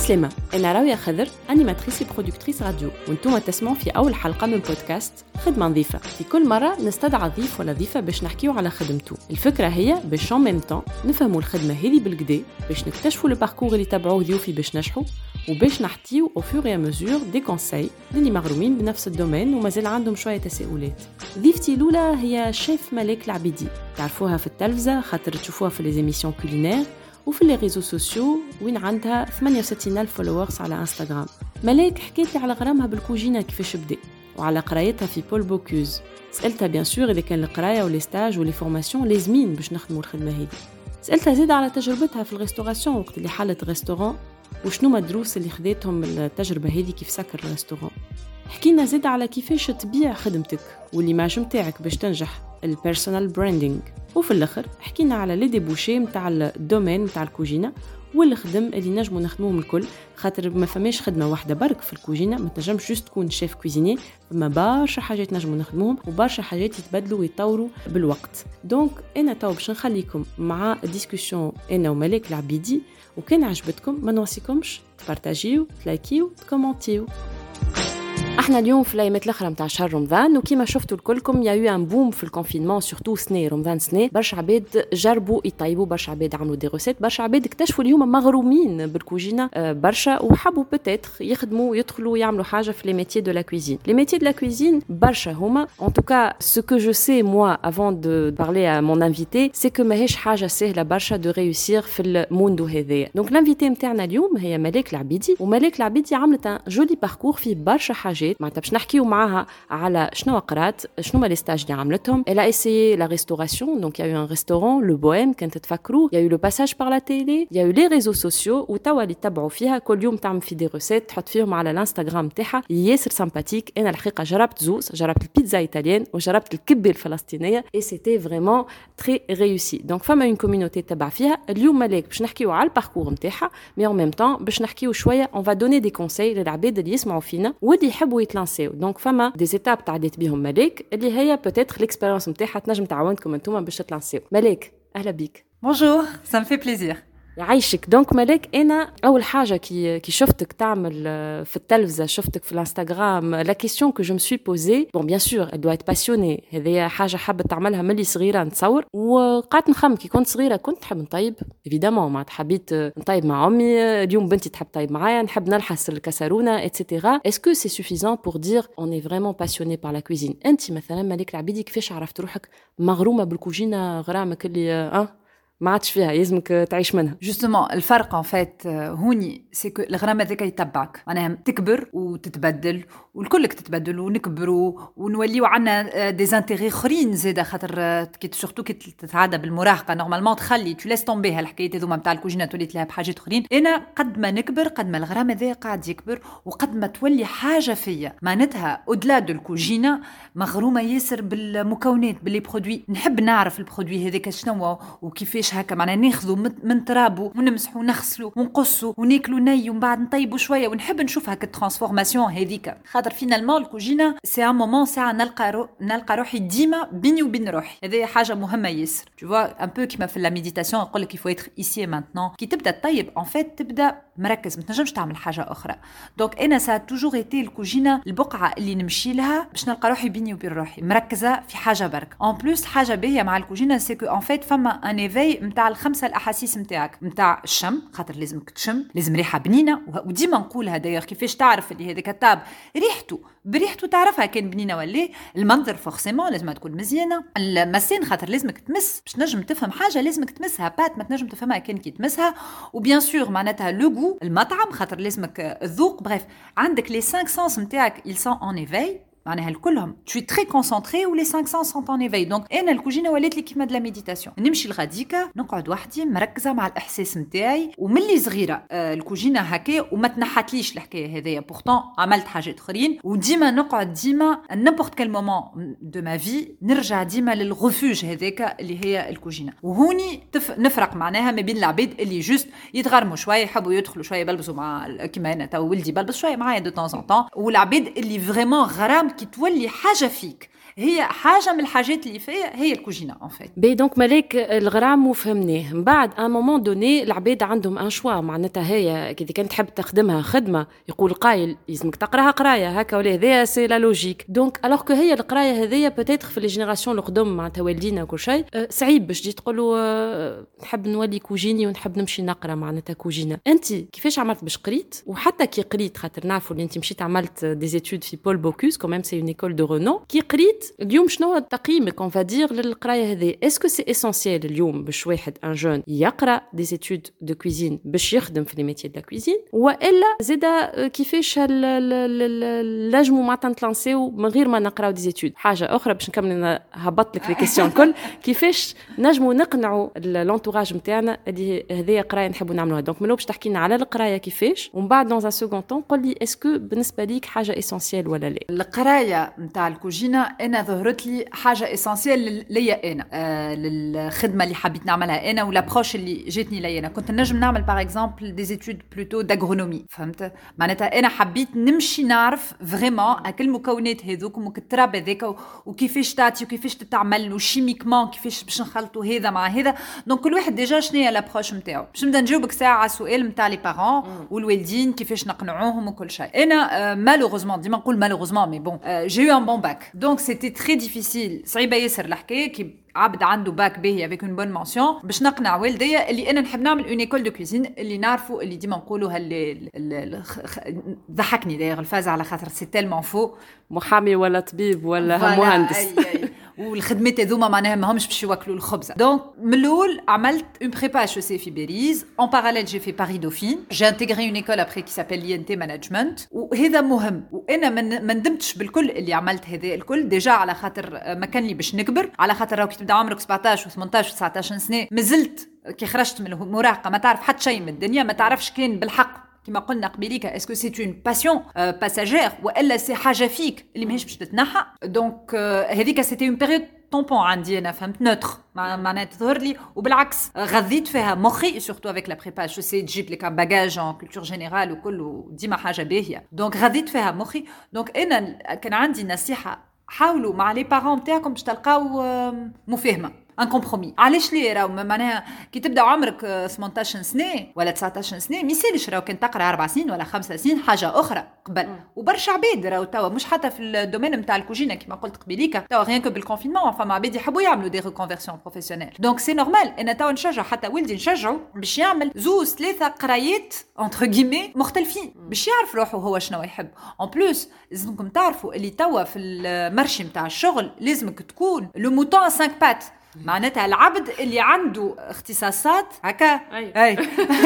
عسلامة، أنا راوية خضر أنيماتريس وبرودكتريس راديو، وانتم تسمعوا في أول حلقة من بودكاست خدمة نظيفة. في كل مرة نستدعى ضيف ولا ضيفة باش نحكيو على خدمته. الفكرة هي باش en même temps نفهموا الخدمة هذه بالكدا، باش نكتشفوا الباركور اللي تبعوه ضيوفي باش نجحوا، وباش نحكيو au fur et à mesure des conseils للي مغرومين بنفس الدومين ومازال عندهم شوية تساؤلات. ضيفتي الأولى هي شيف ملاك العبيدي، تعرفوها في التلفزة خاطر تشوفوها في les émissions culinaires وفي les réseaux sociaux وين عندها 68,000 فولورز على انستغرام. ملاك حكيت لي على غرامها بالكوجينة كيفاش بدا وعلى قرايتها في بول بوكوز. سألتها بيان سور إذا كان القراية ولي ستاج ولي فورماسيون لازمين باش نخدموا الخدمة هذه. سألتها زيادة على تجربتها في الريستوراسيون وقت اللي حلت ريستوران وشنو ما الدروس اللي خذيتهم من التجربة هذه كيف سكر الريستوران. حكينا زيادة على كيفاش تبيع خدمتك والليماج متاعك باش تنجح، البيرسونال براندينج. وفي الاخر حكينا على لي ديبوشي نتاع الدومين نتاع الكوجينه والخدم اللي نجموا نخدموهم الكل، خاطر ما فماش خدمه واحده برك في الكوجينه، ما تنجمش جوست تكون شيف كويزيني، فما برشا حاجات نجموا نخدموهم وبرشا حاجات يتبدلوا ويتطوروا بالوقت. دونك انا تو باش نخليكم مع ديسكوسيون انا وملاك العبيدي، وكان عجبتكم ما نوصيكمش تبارطاجيو تلايكيو تكومونتيو. احنا اليوم في الايامات الاخرى نتاع شهر رمضان، وكيما شفتوا الكلكم يا يو ان بوم في الكونفينمون سورتو سنه رمضان سنه، برشا عباد جربوا يطيبوا، برشا عباد عملوا دي روسيت، برشا عباد اكتشفوا اليوم مغرومين بالكوجينه برشا وحبوا بوتيتر يخدموا يدخلوا يعملوا حاجه في لي ميتيي دو لا كويزين. لي ميتيي دو لا كويزين برشا هما ان توكا سو كو جو سي موا افون دو بارلي ا مون انفيتي سي كو ماهيش حاجه سهله برشا دو ريوسير في الموندو هذايا. دونك الانفيتي نتاعنا اليوم هي ملاك العبيدي، وملاك العبيدي عملت ان جولي باركور فيه برشا حاجات معناتها باش نحكيو معاها على شنو قرات، شنو ما لي ستاج اللي عملتهم. Elle a essayé la restauration, donc il y a eu un restaurant le Bohème كنت تفكروا، il y a eu le passage par la télé, il y a eu les réseaux sociaux وتوا اللي تبعوا فيها كل يوم تعمل في دي روسيت تحط فيهم على الانستغرام تاعها، ياسر سامباتيك. انا الحقيقه جربت زوز، جربت البيتزا ايطاليان وجربت الكبه الفلسطينيه et c'était vraiment très réussi. donc فما une communauté تبع فيها. اليوم ملاك باش نحكيو على الباركور نتاعها، mais en même temps باش نحكيو شويه on va donner des conseils للعباد اللي يسمعوا فينا واللي يحبوا يتلانسيو. دونك فما دي زيتاب تعديت بهم ملاك اللي هي peut-être l'expérience نتاعها تنجم تعاونكم انتوما باش تلانسيو. ملاك اهلا بيك. Bonjour, ça me fait plaisir. يعيشك. دونك ملاك انا اول حاجه كي شفتك تعمل في التلفزه، شفتك في الانستغرام، لا كيسيون كو جو مسوي بوزي بون بيان سور elle doit être passionnée، هذه حاجه حابه تعملها ملي صغيره نتصور. وقعدت نخمم كي كنت صغيره كنت نحب نطيب ايفيدامون، ما حبيت نطيب مع امي، اليوم بنتي تحب تطيب معايا، نحب نلحس الكسرونه etc. est-ce que c'est suffisant pour dire on est vraiment passionné par la cuisine؟ انت مثلا ملاك العبيدي كيفاش عرفت روحك مغرومه بالكوجينه غرامك اللي ما عادش فيها يلزمك تعيش منها؟ Justement, الفرق en fait هوني c'est que الغرام هذاك يتبعك، معناها تكبر وتتبدل والكلك تتبدل ونكبروا ونوليو عنا دي زانتيغي اخرين زاده، خاطر كي سورتو كي تتعدى بالمراهقه نورمالمون تخلي تو لاس تومبي هالحكايات هذوما نتاع الكوجينه تولي تلعب بحاجات اخرين. انا قد ما نكبر قد ما الغرام هذا قاعد يكبر وقد ما تولي حاجه فيا معناتها اودلا دو الكوجينه مغرومه ياسر بالمكونات باللي برودوي. نحب نعرف البرودوي هذاك شنو وكيفاش هكا معناها ناخذوا من ترابو ونمسحوا ونغسلوا ونقصوا وناكلوا ني ومن بعد نطيبوا شويه، ونحب نشوف هكا الترانسفورماسيون هذيك، خاطر فينالمون الكوجينه سي ان مومون ساعه نلقى روحي ديما بيني وبين روحي. هذه حاجه مهمه ياسر. تو فوا ان بو كيما في لا ميديتاسيون يقول لك يفو ايتر ايسي مانتنون. كي تبدا تطيب ان فيت تبدا مركز، ما تنجمش تعمل حاجه اخرى. دونك انا سا توجور ايتي الكوجينه البقعه اللي نمشي لها باش نلقى روحي بيني وبين روحي مركزه في حاجه برك. ان بلوس حاجه باهيه مع الكوجينه سي كو ان فيت فما ان ايفاي نتاع الخمسه الاحاسيس نتاعك، نتاع الشم خاطر لازمك تشم، لازم ريحه بنينه، وديما نقولها داير كيفاش تعرف اللي هذاك الطاب بريحته تعرفها كان بنينه ولا. المنظر فورسيمون لازم تكون مزيانه، المسين خاطر لازمك تمس باش نجم تفهم حاجه، لازمك تمسها بات ما تنجم تفهمها كان كي تمسها. وبيان سور معناتها لو المطعم خاطر لازمك الذوق. بريف عندك لي 5 سنس نتاعك ils sont en éveil معناها الكلهم tu es très concentré و les 5 sens sont en éveil. دونك انا الكوجينه ولات لي كيما دلا ميديتاسيون، نمشي لغاديكا نقعد وحدي مركزه مع الاحساس نتاعي. وملي صغيره الكوجينه هكا وما تنحتليش الحكايه هذيا، بورتون عملت حاجات اخرين وديما نقعد ديما نيمبورت كال مومون دو ما في نرجع ديما للغفوج هذاك اللي هي الكوجينه. وهوني نفرق معناها ما بين العباد اللي جوست يتغرموا شويه يحبوا يدخلوا شويه يبلبسوا مع كيما انا تو ولدي بلبس شويه معايا دو طون طون، والعباد اللي فريمون غرام كي تولي حاجه فيك هي حاجه من الحاجات اللي فيها هي الكوجينه ان فيت. بي دونك ملاك الغرام وفهمناه من بعد ان مومون دوني العباد عندهم ان شوا معناتها هي كي كانت تحب تخدمها خدمه يقول قايل لازمك تقراها قرايه هكا ولا هذا سي لا لوجيك دونك الوغ كو هي القرايه هذيا بوتيتر في لي جينيراسيون القدم معناتها والدينا وكل شيء صعيب باش تجي تقولوا نحب نولي كوجيني ونحب نمشي نقرا معناتها كوجينه. انت كيفاش عملت باش قريت وحتى كي قريت خاطر نعرفوا اللي انت مشيت عملت دي زيتود في بول بوكوس كوميم سي اون ايكول دو رونو كي قريت اليوم شنو تقييمك اون فادير للقرايه هذه اسكو سي اسونسيال اليوم باش واحد ان جون يقرا دي زيتود دو كويزين باش يخدم في لي ميتيي دو لا كويزين والا زاده كيفاش نجموا معناتها نتلانسيو من غير ما نقراو دي زيتود. حاجه اخرى باش نكمل انا هبط لك لي كيسيون كل كيفاش نجموا نقنعوا لونتوراج نتاعنا اللي هذه قرايه نحبوا نعملوها. دونك منو باش تحكي لنا على القرايه كيفاش ومن بعد دون ان سكوند طون قول لي اسكو بالنسبه ليك حاجه اسونسيال ولا لا. القرايه نتاع الكوجينه انا ظهرت لي حاجه اسونسيال ليا انا للخدمه اللي حبيت نعملها انا والابروش اللي جاتني ليا انا. كنت نجم نعمل باغ اكزومبل دي زيتود بلوتو داغرونومي فهمت معناتها انا حبيت نمشي نعرف فريمون اكل المكونات هذوك ومكتراب هذاك وكيفاش تعطي وكيفاش تتعمل وشيميكمون كيفاش باش نخلطوا هذا مع هذا. دونك كل واحد ديجا شنو هي لابروش نتاعو باش نبدا نجاوبك ساعه على السؤال نتاع لي بارون والوالدين كيفاش نقنعوهم وكل شيء. انا مالوغوزمون ديما نقول مالوغوزمون مي بون جي يو ان بون باك دونك سيتي تري ديفيسيل صعيبه ياسر الحكايه كي عبد عنده باك باهي افيك اون بون مونسيون باش نقنع والديا اللي انا نحب نعمل اون ايكول دو كوزين اللي نعرفوا اللي ديما نقولوا ضحكني داير الفاز على خاطر سي تيلمون فو محامي ولا طبيب ولا مهندس والخدمات هذوما معناها ماهمش باش يوكلوا الخبز. دونك من الاول عملت اون بريبا اتش سي في باريس اون باراليل جي في باري دوفين جي انتيغري اون ايكول ابري كي سابيل لي ان تي مانجمنت وهذا مهم وانا ما ندمتش بالكل اللي عملت هذا الكل ديجا على خاطر ما كان لي باش نكبر على خاطر راك تبدا عمرك 17 و18 و19 سنه مازلت كي خرجت من المراهقه ما تعرف حتى شيء من الدنيا ما تعرفش كان بالحق كما قلنا قبيليك اسكو سي اون باسيون باساجير والا سي حاجه فيك اللي ماهيش باش تتنحى. دونك هذيك سيتي اون بيريود طومبون عندي انا فهمت نوتر معناتها تظهر لي وبالعكس غذيت فيها مخي سورتو افيك لا بريبا جو سي تجيب لك ان باجاج ان كولتور جينيرال وكل ديما حاجه باهيه. دونك غذيت فيها مخي. دونك انا كان عندي نصيحه حاولوا مع لي بارون نتاعكم باش تلقاو مفاهمه ان كومبرومي. علاش ليه راهو معناها كي تبدا عمرك 18 سنه ولا 19 سنه ميسالش راهو كان تقرا 4 سنين ولا 5 سنين حاجه اخرى قبل وبرشا عباد راهو توا مش حتى في الدومين نتاع الكوجينه كما قلت قبيليك توا غير كو بالكونفينمون فما عباد يحبوا يعملوا دي ريكونفيرسيون بروفيسيونيل. دونك سي نورمال انا توا نشجع حتى ولدي نشجعه باش يعمل زوز 3 قرايات انتر غيمي مختلفين باش يعرف روحه هو شنو يحب. اون بلوس لازمكم تعرفوا اللي توا في المارشي نتاع الشغل لازمك تكون لو موتون 5 بات معناتها العبد اللي عنده اختصاصات هكا اي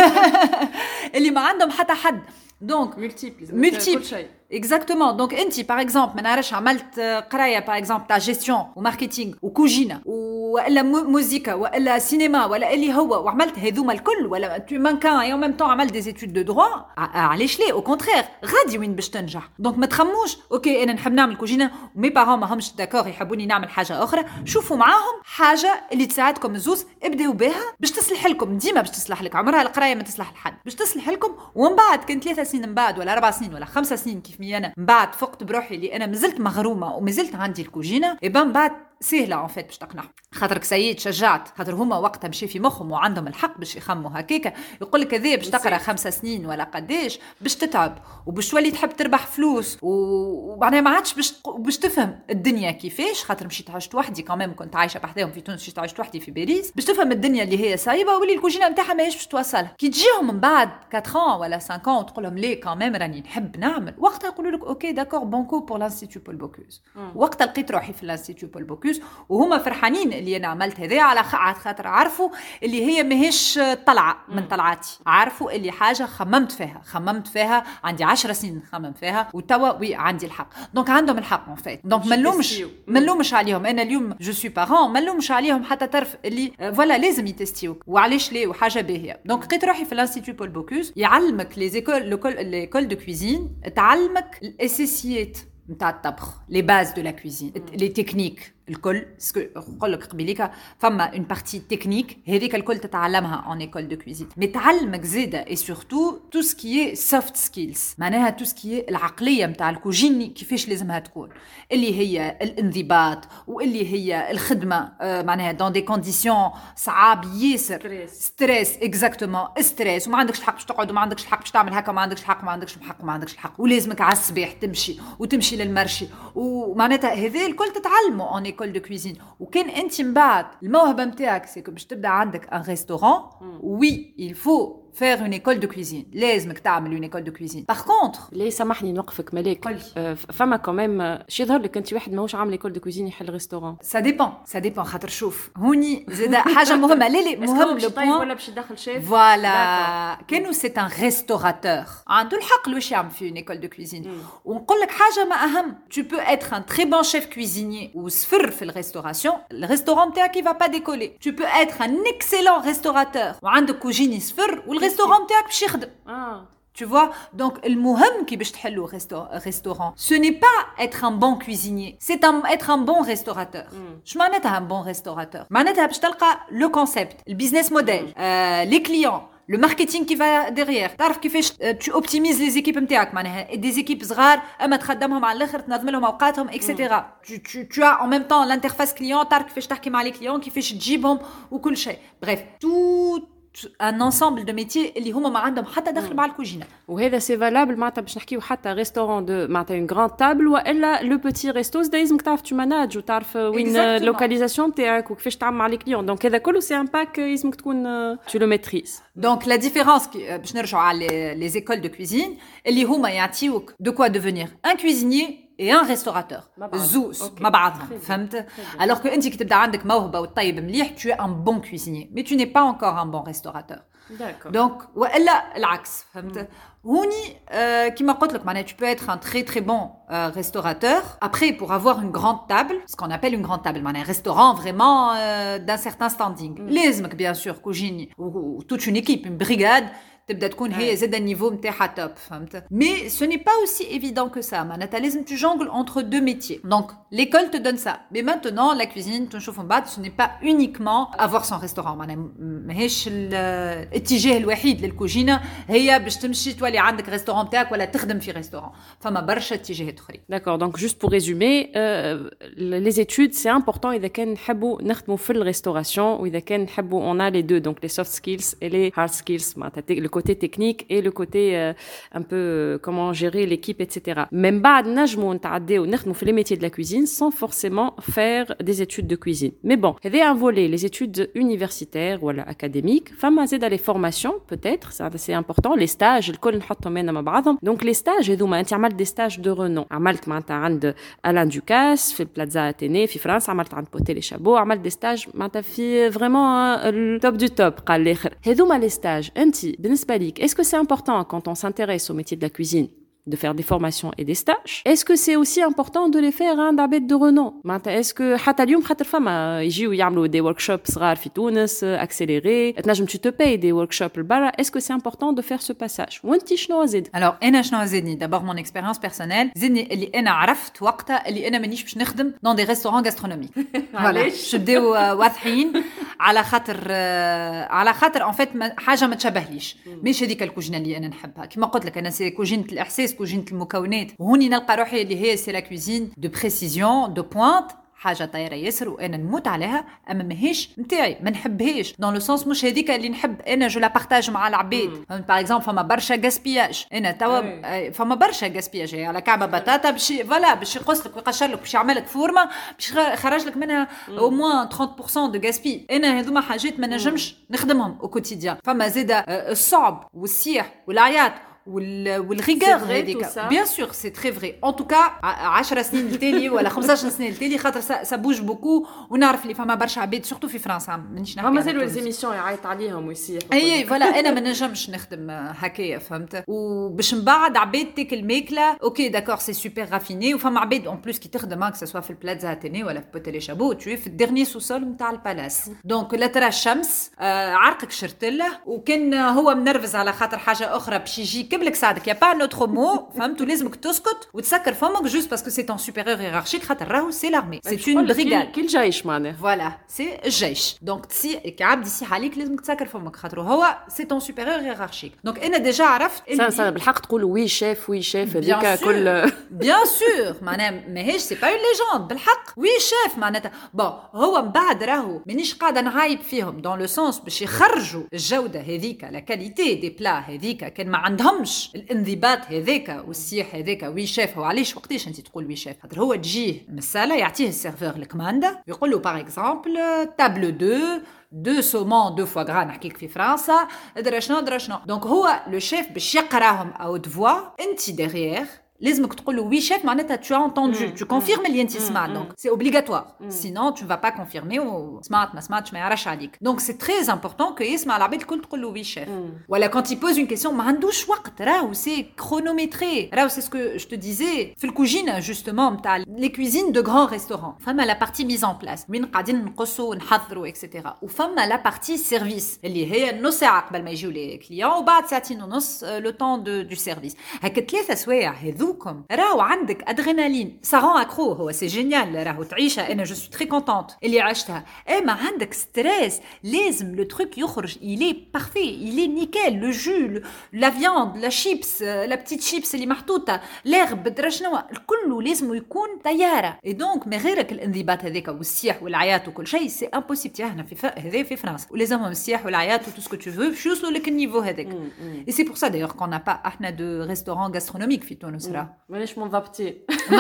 اللي ما عندهم حتى حد. دونك ملتيبل شيء اكزاكتومون. دونك انت باغ اكزومبل ما نعرفش عملت قرايه باغ اكزومبل تاع جيستيون وماركتينغ وكوجينه ولا موسيقى ولا سينما ولا اللي هو وعملت هذوما الكل ولا تو مانكان اي ميم طون عملت دي زيتود دو دروا علاش ليه او كونترير غادي وين باش تنجح. دونك ما تخموش اوكي انا نحب نعمل كوجينه ومي بارون ما همش داكور يحبوني نعمل حاجه اخرى. شوفوا معاهم حاجه اللي تساعدكم الزوز ابداو بها باش تصلح لكم ديما باش تصلح لك عمرها القرايه ما تصلح لحد باش تصلح لكم. ومن بعد كان 3 سنين من بعد ولا 4 سنين ولا 5 سنين كيف مي انا من بعد فقت بروحي اللي انا مازلت مغرومه ومازلت عندي الكوجينه ايبان بعد سهله ان فيت باش تقنع خاطرك سيد شجعت خاطر هما وقتها مشي في مخهم وعندهم الحق باش يخموا هكاكا يقول لك هذه باش تقرا 5 سنين ولا قداش باش تتعب وباش تولي تحب تربح فلوس وبعدين ما عادش باش تفهم الدنيا كيفاش خاطر مشيت عشت وحدي كمان كنت عايشه بحداهم في تونس مشيت عشت وحدي في باريس باش تفهم الدنيا اللي هي صايبه واللي الكوجينه نتاعها ماهيش باش توصلها. كي تجيهم من بعد 4 ولا 5 وتقول لهم ليه كمان راني نحب نعمل وقتها يقولوا لك اوكي داكور بونكو بور لانستيتو بول بوكوز. وقتها لقيت روحي في لانستيتو بول بوكوز وهما فرحانين اللي انا عملت هذا على خاطر عرفوا اللي هي ماهيش طلعه من طلعاتي عرفوا اللي حاجه خممت فيها عندي 10 سنين نخمم فيها وتوا وي عندي الحق. دونك عندهم الحق ان فيت. دونك ما نلومش عليهم انا اليوم جو سوي بارون ما نلومش عليهم حتى طرف اللي فوالا لازم يتستيوك وعلاش ليه وحاجه باهيه. دونك لقيت روحي في الانستيتو بول بوكوز يعلمك لي ليكول دو كويزين تعلمك الاساسيات نتاع الطبخ لي باز دو لا كويزين لي تكنيك الكل سكو نقول لك قبيليك فما اون بارتي تكنيك هذيك الكل تتعلمها ان ايكول دو كويزين مي تعلمك زاده اي سورتو تو سكي سوفت سكيلز معناها تو سكي العقليه نتاع الكوجيني كيفاش لازمها تكون اللي هي الانضباط واللي هي الخدمه معناها دون دي كونديسيون صعاب ياسر ستريس اكزاكتومون ستريس وما عندكش الحق باش تقعد وما عندكش الحق باش تعمل هكا وما عندكش الحق وما عندكش الحق ولازمك على الصباح تمشي للمرشي ومعناتها هذا الكل تتعلمه ان ايكول دو كويزين وكان انت من بعد الموهبه نتاعك سيكو باش تبدا عندك ان ريستورون وي il faut faire une école de cuisine لازمك تعمل une école de cuisine par contre ليه سامحني نوقفك ملاك فما كمان شي يظهر لك انت واحد ماهوش عامل école de cuisine يحل ريستورون ça dépend خاطر شوف هوني زاد حاجه مهمه لا مهم لو بوين ولا باش يدخل شيف فوالا كانوا سي ان ريستوراتور عنده الحق واش يعمل في une école de cuisine ونقول لك حاجه ما اهم tu peux être un très bon chef cuisinier وصفر في الريستورون تاعك va pas décoller tu peux être un excellent restaurateur وعندك كوجيني صفر والريستورون تاعك باش يخدم Tu vois, donc le مهم كي باش تحلو restaurant, ce n'est pas être un bon cuisinier, c'est être un bon restaurateur. شو معناتها un bon restaurateur? معناتها باش تلقى le concept, le business model, les clients, le marketing qui va derrière. تعرف كيفاش tu optimises les équipes نتاعك معناها des équipes صغار اما تخدمهم على الاخر تنظم لهم اوقاتهم etc. Tu as en même temps l'interface client, تعرف كيفاش تحكي مع les clients, كيفاش تجيبهم وكل شيء. Bref, tout un ensemble de métiers اللي هما ما عندهم حتى دخل مع الكوجينه وهذا سي فالابل معناتها باش نحكيو حتى ريستورون دو معناتها اون غراند تابل والا لو بوتي ريستو لازمك تعرف تماناج وتعرف وين اللوكاليزاسيون تاعك وكيفاش تعمل مع لي كليون دونك هذا كله سي ان باك لازمك تكون تو لو ميتريز دونك لا ديفيرونس باش نرجعوا على لي زيكول دو كويزين اللي هما يعطيوك دو كوا ديفينير ان كويزينير et un restaurateur زوز مع بعضهم فهمت alors que انت كي تبدا عندك موهبه وطيب مليح tu es un bon cuisinier mais tu n'es pas encore un bon restaurateur donc والا العكس فهمت هوني كيما قلت لك معناها tu peux être un très très bon restaurateur après pour avoir une grande table ce qu'on appelle une grande table معناها restaurant vraiment d'un certain standing لازمك bien sûr كوجيني و toute une équipe une brigade تبدا تكون هي زاد النيفو نتاعها توب فهمت mais ce n'est pas aussi évident que ça معناتها لازم tu jongles entre deux métiers donc l'école te donne ça mais maintenant la cuisine تنشوف من بعد ce n'est pas uniquement avoir son restaurant معناها ماهيش الاتجاه الوحيد للكوجينه هي باش تمشي تولي عندك ريستورون تاعك ولا تخدم في ريستورون فما برشا اتجاهات اخرين d'accord donc juste pour résumer les études c'est important اذا كان نحبوا نخدموا في الريستوراسيون واذا كان نحبوا on a les deux donc les soft skills et les hard skills معناتها côté technique et le côté un peu comment gérer l'équipe etc. Même بعد نجموا نتعداو نخدموا في les métiers de la cuisine sans forcément faire des études de cuisine. Mais bon, il y a un volet les études universitaires ou académiques, فما زاد les formations peut-être, c'est important, les stages الكل نحطهم هنا مع بعضهم. Donc les stages هذوما انت عملت des stages de renom. عملت معناتها عند Alain Ducasse في البلازا أتيني في فرنسا عملت عند بوتي لي شابو عملت des stages معناتها في vraiment التوب du top قال الآخر. هذوما les stages انت بالنسبة est-ce que c'est important quand on s'intéresse au métier de la cuisine de faire des formations et des stages est-ce que c'est aussi important de les faire عند عباد de renom est-ce que حتى اليوم خاطر فما يجيو يعملوا des workshops صغار في تونس accélérés تنجم tu te payes des workshops لبرا est-ce que c'est important de faire ce passage وانت شنو زيد alors انا شنو زيدني d'abord mon expérience personnelle زيدني اللي انا عرفت وقتها اللي انا مانيش باش نخدم dans des restaurants gastronomiques علاش نبداو واضحين على خاطر en fait حاجه ما تشبهليش مش هذيك الكوجينه اللي انا نحبها كما قلت لك انا سي كوجينه الاحساس كوجينه المكونات وهوني نلقى روحي اللي هي سي لا كوزين دو بريسيزيون دو بوينت حاجه طايره ياسر وانا نموت عليها اما ماهيش نتاعي ما نحبهاش دون لو سونس مش هذيك اللي نحب انا جو لا بارطاج مع العباد باغ اكزومبل فما برشا غاسبياج انا توا فما برشا غاسبياج على كعبه بطاطا باش فوالا باش يقص لك ويقشر لك باش يعمل لك فورمه باش يخرج لك منها او موان 30% دو غاسبي انا هذوما حاجات ما نجمش نخدمهم او كوتيديان فما زاده الصعب والسيح والعياط والريغور هذيك بيان سور سي تري فري ان توكا 10 سنين التالي ولا 15 سنه التالي خاطر سا بوج بوكو ونعرف اللي فما برشا عباد سورتو في فرنسا مانيش نحكي مازالوا ليزيميسيون يعيط عليهم ويصيح اي فوالا انا ما نجمش نخدم هكايا فهمت وباش من بعد عباد تاكل ماكله اوكي داكور سي سوبر رافيني وفما عباد اون بلوس كي تخدم كسا سوا في البلازا اتيني ولا في بوتي لي شابو تو في الديرني سوسول نتاع البالاس دونك لا ترى الشمس عرقك شرتله وكان هو منرفز على خاطر حاجه اخرى باش يجي يركب لك ساعدك. يا با نوتر مو فهمتوا لازمك تسكت وتسكر فمك جوست باسكو سي تون سوبيريور هيرارشيك خاطر راهو سي لارمي سي اون بريغاد كل جيش معناها فوالا سي الجيش دونك تسي كعبد يسيح عليك لازمك تسكر فمك خاطر هو سي تون سوبيريور هيرارشيك دونك انا ديجا عرفت سا بالحق تقولوا وي شيف هذيك كل بيان سور معناها ماهيش سي با اون ليجوند بالحق وي شيف معناتها بون هو من بعد راهو مانيش قاعده نعايب فيهم دون لو سونس باش يخرجوا الجوده هذيك لا كاليتي دي بلا هذيك كان ما عندهمش الانضباط هذاك والسيح هذاك وي شيف. هو علاش وقتاش انت تقول وي شيف خاطر هو تجيه من الساله يعطيه السيرفور الكمانده يقول له باغ اكزومبل تابل 2 2 saumons 2 foie gras نحكيك في فرنسا درا شنو دونك هو لو شيف باش يقراهم او دفوا انت ديغيير لازمك تقول وي شيف معناتها tu as entendu tu confirmes اللي انت سمعت donc c'est obligatoire sinon tu ne vas pas confirmer وسمعت ما سمعتش ما يعرفش عليك donc c'est très important que يسمع العباد الكل تقول له وي شيف ولا quand il pose une question ما عندوش وقت راهو c'est chronométré راهو c'est ce que je te disais في الكوجينه justement نتاع les cuisines de grands restaurants فما la partie mise en place وين قاعدين نقصوا ونحضروا etc وفما la partie service اللي هي نص ساعه قبل ما يجيو لي كليون وبعد ساعتين ونص le temps du service هكا 3 سوايع هذو راهو عندك ادرينالين سارون اكرو هو سي جينيال راهو تعيشها انا جو سوي تري كونتونت اللي عشتها اما عندك ستريس لازم لو تروك يخرج إلي بارفي إلي نيكال لو جو لا فياند لا شيبس لا بتيت شيبس اللي محطوطه لارب بدرا شنو الكل لازم يكون طياره اي دونك ما غيرك الانضباط هذاك والسياح والعياط وكل شيء سي امبوسيبل هنا في هذا في فرنسا ولازمهم السياح والعياط وتو سكو تو فو باش يوصلوا لك النيفو هذاك اي سي بور سا دايوغ كون نا با احنا دو ريستورون غاسترونوميك في تونس مانيش منضبطين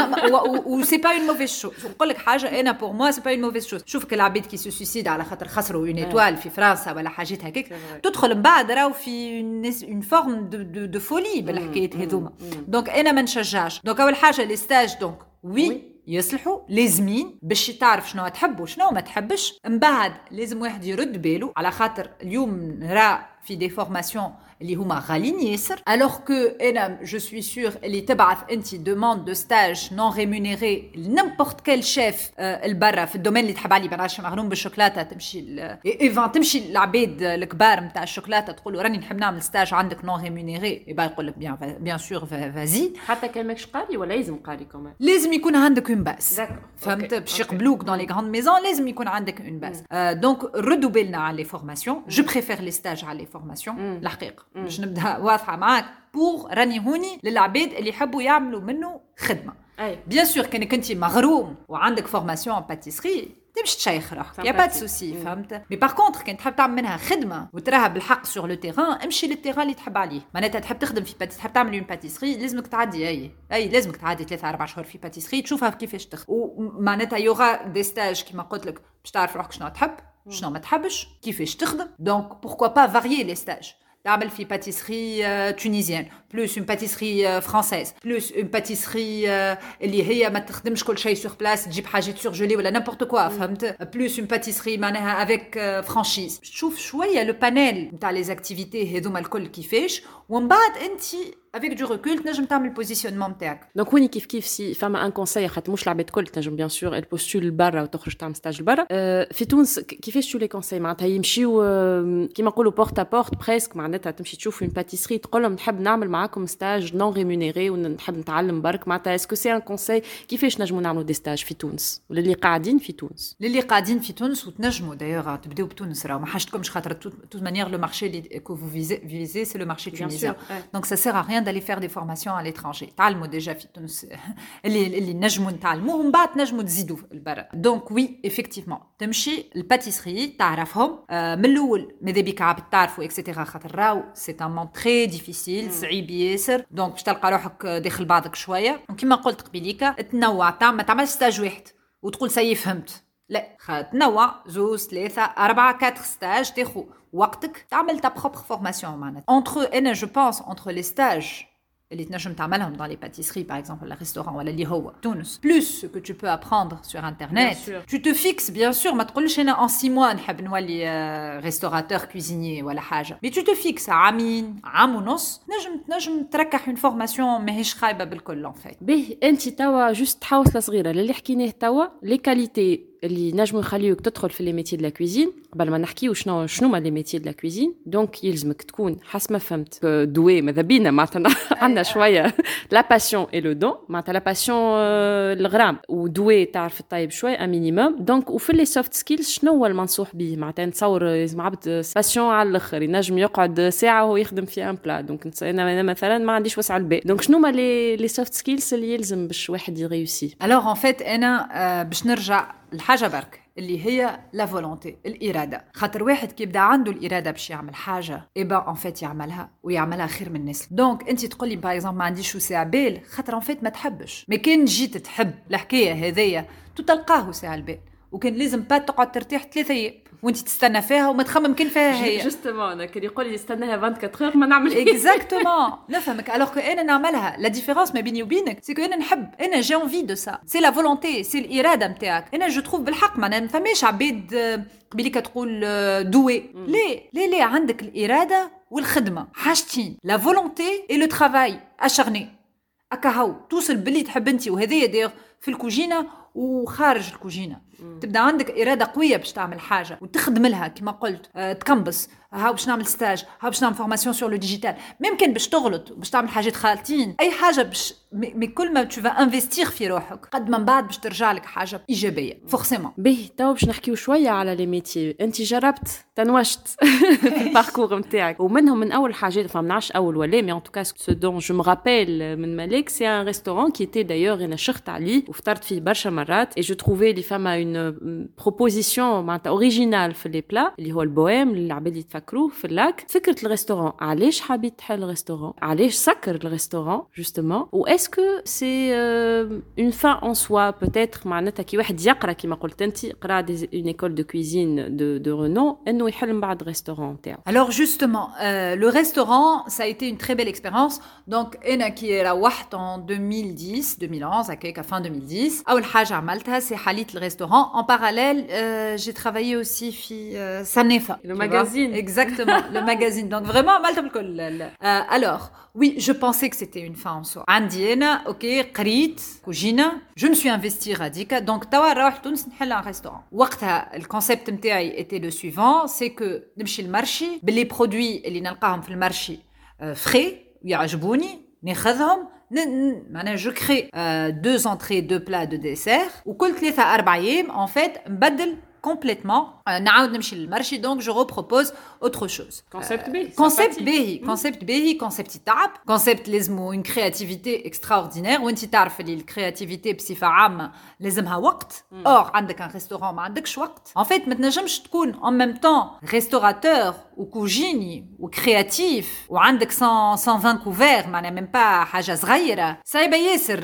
و سي با اون موفيز شوز نقول لك حاجه انا بور موا سي با اون موفيز شوز شوف العباد كي سو سوسيد على خاطر خسروا اون ايطوال في فرنسا ولا حاجات هكاك تدخل من بعد راهو في اون فورم دو فولي بالحكايات هذوما دونك انا ما نشجعش دونك اول حاجه لي ستاج دونك وي يصلحوا لازمين باش تعرف شنو تحب وشنو ما تحبش من بعد لازم واحد يرد باله على خاطر اليوم نرى في دي فورماسيون اللي هما غاليين ياسر alors que انا جو سوي سور اللي تبعث انت دوموند دو ستاج نون ريمونيري لنيمبورت كيل شيف البرا في الدومين اللي تحب عليه بنعرفش مغروم بالشوكولاته تمشي ايفان تمشي للعباد الكبار نتاع الشوكولاته تقول له راني نحب نعمل ستاج عندك نون ريمونيري يبقى يقول لك بيان سور فازي حتى كان ماكش قاري ولا لازم قاري كمان لازم يكون عندك اون باس فهمت باش يقبلوك دون لي غراند ميزون لازم يكون عندك اون باس دونك ردوا بالنا على لي فورماسيون جو بريفير لي ستاج على لي فورماسيون الحقيقه باش نبدا واضحه معاك بور راني هوني للعباد اللي يحبوا يعملوا منه خدمه بيان سور كانك انت مغروم وعندك فورماسيون باتيسري تمشي تشيخ روحك يا با دو سوسي فهمت مي باغ كونطخ كان تحب تعمل منها خدمه وتراها بالحق سور لو تيران امشي للتيران اللي تحب عليه معناتها تحب تخدم في تحب تعمل اون باتيسري لازمك تعدي اي لازمك تعدي 3 4 شهور في باتيسري تشوفها كيفاش تخدم ومعناتها يوغا دي ستاج كيما قلت لك باش تعرف روحك شنو تحب شنو ما تحبش كيفاش تخدم دونك بوركوا با فاريي لي ستاج تعمل في باتيسري تونيزيان بلوس اون باتيسري فرانسيز بلوس اون باتيسري اللي هي ما تخدمش كل شيء سور بلاس تجيب حاجات سورجولي ولا نيمبورت كوا فهمت بلوس اون باتيسري معناها افيك فرانشيز تشوف شويه لو بانيل نتاع لي زاكتيفيتي هذوما الكل كيفاش ومن بعد انت avec du recul تنجم تعمل البوزيشنمون نتاعك دونك وين كيف سي فما ان كونساي خاطر مش العباد الكل تنجم بيان سور البوستول لبرا وتخرج تعمل ستاج لبرا في تونس كيفاش تو لي كونساي معناتها يمشيو كيما نقولوا بورت ا بورت بريسك معناتها تمشي تشوف اون باتيسري تقول لهم نحب نعمل معاكم ستاج نون ريمونيري ونحب نتعلم برك معناتها اسكو سي ان كونساي كيفاش نجموا نعملوا دي ستاج في تونس ولا اللي قاعدين في تونس وتنجموا دايوغ تبداو بتونس راه ما حاجتكمش خاطر توت مانيير لو مارشي اللي كو فو فيزي سي لو مارشي تونيزيان دونك سا سير ا ريان d'aller faire des formations à l'étranger تعلموا ديجا في تونس اللي نجموا نتعلموهم بعد نجموا تزيدوا البرا دونك وي ايفيكتيفمون تمشي الباتيسري تعرفهم من الاول ماذا بك عبد تعرفوا اكسيتيرا خاطر راو سي ان مون تري ديفيسيل صعيب ياسر دونك باش تلقى روحك داخل بعضك شويه وكما قلت قبيليكا تنوع ما تعملش ستاج واحد وتقول سي فهمت لا تنوع 2 3 4 4 ستاج تاخذ وقتك تعمل ta propre formation معناتها انا جو بونس entre les stages اللي تنجم تعملهم dans les pâtisseries par exemple le restaurant ولا اللي هو تونس plus ce que tu peux apprendre sur internet tu te fixes bien sûr ما تقولش انا en 6 mois نحب نولي restaurateur cuisinier ولا حاجه mais tu te fixes عام ونص نجم تركح une formation ماهيش خايبه بالكل en fait به انت توا جوست حوصله صغيره اللي حكيناه توا لي كاليتي اللي نجموا يخليوك تدخل في لي ميتي دو لا كوزين. قبل ما نحكيو شنو هما لي ميتي دو لا كوزين، دونك يلزمك تكون حسب ما فهمت دوي ماذا بينا معناتها عندنا شويه لا باسيون اي لو دون، معناتها لا باسيون الغرام ودوي تعرف الطيب شويه ان مينيموم. دونك وفي لي سوفت سكيلز شنو هو المنصوح به؟ معناتها نتصور لازم عبد باسيون على الاخر، ينجم يقعد ساعه وهو يخدم في ان بلا. دونك انا مثلا ما عنديش وسع البال، دونك شنو هما لي سوفت سكيلز اللي يلزم باش واحد يريوسي؟ الوغ ان فيت انا باش نرجع الحاجه برك اللي هي لا فولونتي، الاراده. خاطر واحد كي يبدا عنده الاراده باش يعمل حاجه ايبا ان فيت يعملها ويعملها خير من الناس. دونك انت تقولي باغ اكزومبل ما عنديش وسع بال خاطر ان فيت ما تحبش، ما كان جيت تحب الحكايه هذيا تلقاه وسع البال، وكان لازم با تقعد ترتاح 3 ايام وانت تستنى فيها وما تخمم كان فيها هي. جوستومون انا كان يقول لي استناها 24 اور ما نعمل اكزاكتومون نفهمك. الوغ كو انا نعملها لا ديفيرونس ما بيني وبينك سي كو انا نحب، انا جي انفي دو سا، سي لا فولونتي، سي الاراده نتاعك. انا جو تروف بالحق ما نفهمش عبيد قبيلك تقول دوي ليه عندك الاراده والخدمه حاجتين، لا فولونتي اي لو ترافاي اشارني اكاهو توصل باللي تحب انت. وهذه دير في الكوجينه وخارج الكوجينه تبدا عندك اراده قويه باش تعمل حاجه وتخدم لها كما قلت. تكمبس هاو باش نعمل ستاج، هاو باش نعمل فورماسيون سور لو ديجيتال، ممكن باش تغلط باش تعمل حاجات خالتين، اي حاجه باش مي كل ما تو فا انفستير في روحك قد من بعد باش ترجع لك حاجه ايجابيه فورسيمون. باهي تو باش نحكيو شويه على لي ميتي. انت جربت تنوشت في الباركور نتاعك، ومنهم من اول حاجات ما نعرفش اول ولا مي ان توكا سو دون جو me rappelle من مالك سي ان ريستورون كي تي دايور انا شخت عليه وفطرت فيه برشا مرات. اي جو تروفي لي فما اون بروبوزيسيون معناتها اوريجينال في لي بلا اللي هو البويم اللي العباد يتفكروه في اللاك. فكره الريستورون علاش حبيت تحل الريستورون، علاش سكر الريستورون جوستومون، و اسكو سي اون فان ان سوا بوتيتر معناتها كي واحد يقرا كيما قلت انت قرا اون ايكول دو كويزين دو رونو انه يحل من بعد ريستورون تاعو. Alors justement le restaurant ça a été une très belle expérience. Donc انا كي روحت en 2011 هكاك fin 2010 اول حاجه عملتها سي حليت الريستورون. En parallèle j'ai travaillé aussi في Sanefa, le magazine. Exactement, le magazine. Donc vraiment عملت بالكل. Alors oui, je pensais que c'était une fin en soi. عندي انا اوكي قريت كوجينه، je me suis investie راديكا. دونك توا نروح تونس نحل ان ريستورون. وقتها الكونسيبت نتاعي était le suivant, c'est que نمشي المارشي باللي برودوي اللي نلقاهم في المارشي فري ويعجبوني ناخذهم معناها جو كري 2 entrées 2 plats de dessert وكل 3-4 ايام en fait نبدل complètement نعاود نمشي للمارشي. دونك جو repropose autre chose. كونسيبت باهي، كونسيبت باهي، كونسيبت يتعب، كونسيبت لازمو اون كرياتيفيتي اكستراوردينير. وانت تعرف اللي الكرياتيفيتي بصفه عامه لازمها وقت. اور عندك ان ريستورون ما عندكش وقت ان فيت ما تنجمش تكون ان ميم طون ريستوراتور وكوجيني وكرياتيف وعندك 120 كوفير معناها ميم با حاجه صغيره. صعيبه ياسر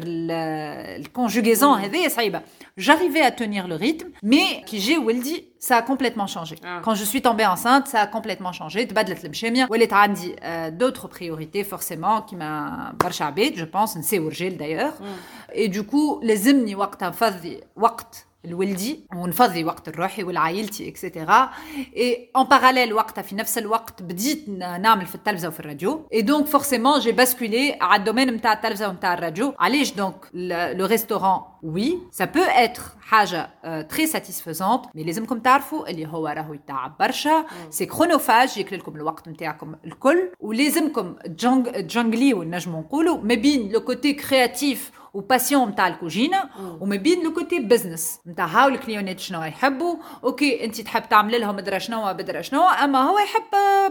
الكونجوغيزون هذه صعيبه. J'arrivais à tenir le rythme, mais qui j'ai Wildy, ça a complètement changé. Quand je suis tombée enceinte, ça a complètement changé. تبدلت المشامية ولات عندي d'autres priorités forcément qui m'a برشا عباد je pense نساو رجال d'ailleurs. Et du coup لازمني وقتها نفضي وقت الولدي ونفضي وقت الروحي والعائلتي اكسيتيرا. اي ان باراليل وقتها في نفس الوقت بديت نعمل في التلفزه وفي الراديو. اي دونك فورسيمون جي باسكولي على الدومين نتاع التلفزه ونتاع الراديو. علاش دونك لو ريستورون وي سا بو اتر حاجه تري ساتيسفيزونت مي لازمكم تعرفوا اللي هو راهو يتعب برشا. سي كرونوفاج ياكل لكم الوقت نتاعكم الكل ولازمكم جونغليو نجمو نقولوا ما بين لو كوتي كرياتيف وباسيون نتاع الكوجينه وما بين لو كوتي بزنس نتاع هاو الكليونات شنو يحبوا. اوكي انت تحب تعمل لهم بدرا شنو اما هو يحب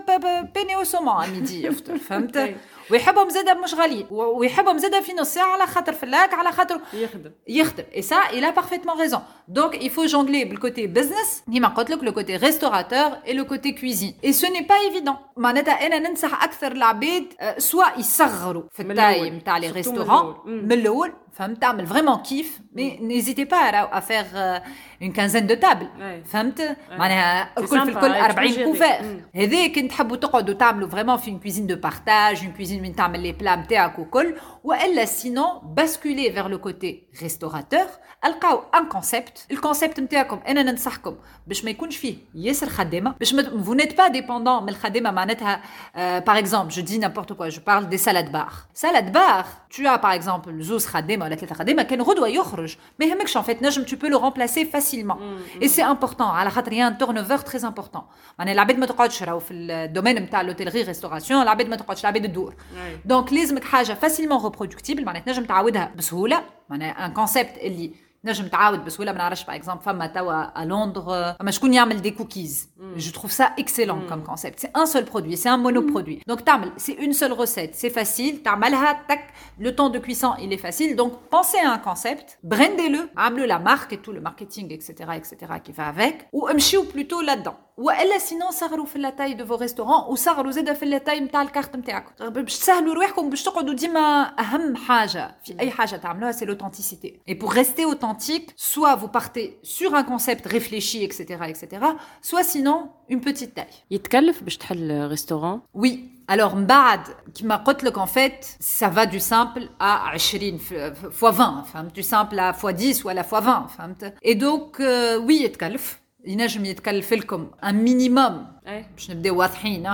بيني وسومون ميدي يفطر فهمت. ويحبهم زاده مش غاليين ويحبهم زاده في نص ساعه على خاطر فلاك على خاطر يخدم. اي سا il a parfaitement raison. Donc il faut jongler بالكوتي بزنس كيما قلت لك لو كوتي ريستوراتور et le côté cuisine et ce n'est pas évident. معناتها انا ننصح اكثر العباد سواء يصغروا في التايم تاع لي ريستورون من الاول فهمت تعمل فريمون كيف مي نيزيتي با à faire une quinzaine de tables فهمت معناها الكل 40 كوفير. هذا كنت تحبوا تقعدوا تعملوا فريمون في une cuisine de partage une cuisine من تعمل لي بلا نتاعك وكل. والا sinon basculer vers le côté restaurateur القاو un concept الكونسيبت نتاعكم انا ننصحكم باش ما يكونش فيه ياسر خدامه باش vous n'êtes pas dépendant من الخدامه معناتها par exemple je dis n'importe quoi je parle des salades bar tu as par exemple زوز خدامه ولا 3 خدامه كان غدوه يخرج ما يهمكش en fait نجم tu peux le remplacer facilement et c'est important على خاطر y a un turnover très important معناها العباد ما تقعدش راهو في الدومين نتاع لوتيلغي ريستوراسيون العباد ما تقعدش العباد تدور دونك لازمك حاجه facilement reproductible معناها تنجم تعاودها بسهوله معناها ان كونسيبت اللي نجم تعاود بسهوله ما نعرفش باغ اكزومبل فما توا لندن فما شكون يعمل دي كوكيز جو تروف سا اكسيلون كوم كونسيبت سي ان سول برودوي سي ان مونو برودوي دونك تعمل سي اون سول ريسيت سي فاسيل تعملها تك لو طون دو كويسون il est facile donc pensez à un concept brandez-le عملوا la marque et tout le marketing etc qui va avec وامشيو plutôt là-dedans والا سينون صغروا في لاي دو فو ريستورون وصغروا زاده في لاي نتاع الكارت نتاعكم باش تسهلوا روحكم باش تقعدوا ديما اهم حاجه في اي حاجه تعملوها سي l'authenticité et pour rester authentique soit vous partez sur un concept réfléchi etc soit sinon une petite taille يتكلف باش تحل ريستورون oui alors بعد كما قلت لك en fait ça va du simple à 20 fois 20 فهمت du simple à fois 10 ولا fois 20 فهمت et donc oui يتكلف ينجم يتكلف لكم un minimum باش نبداو واضحين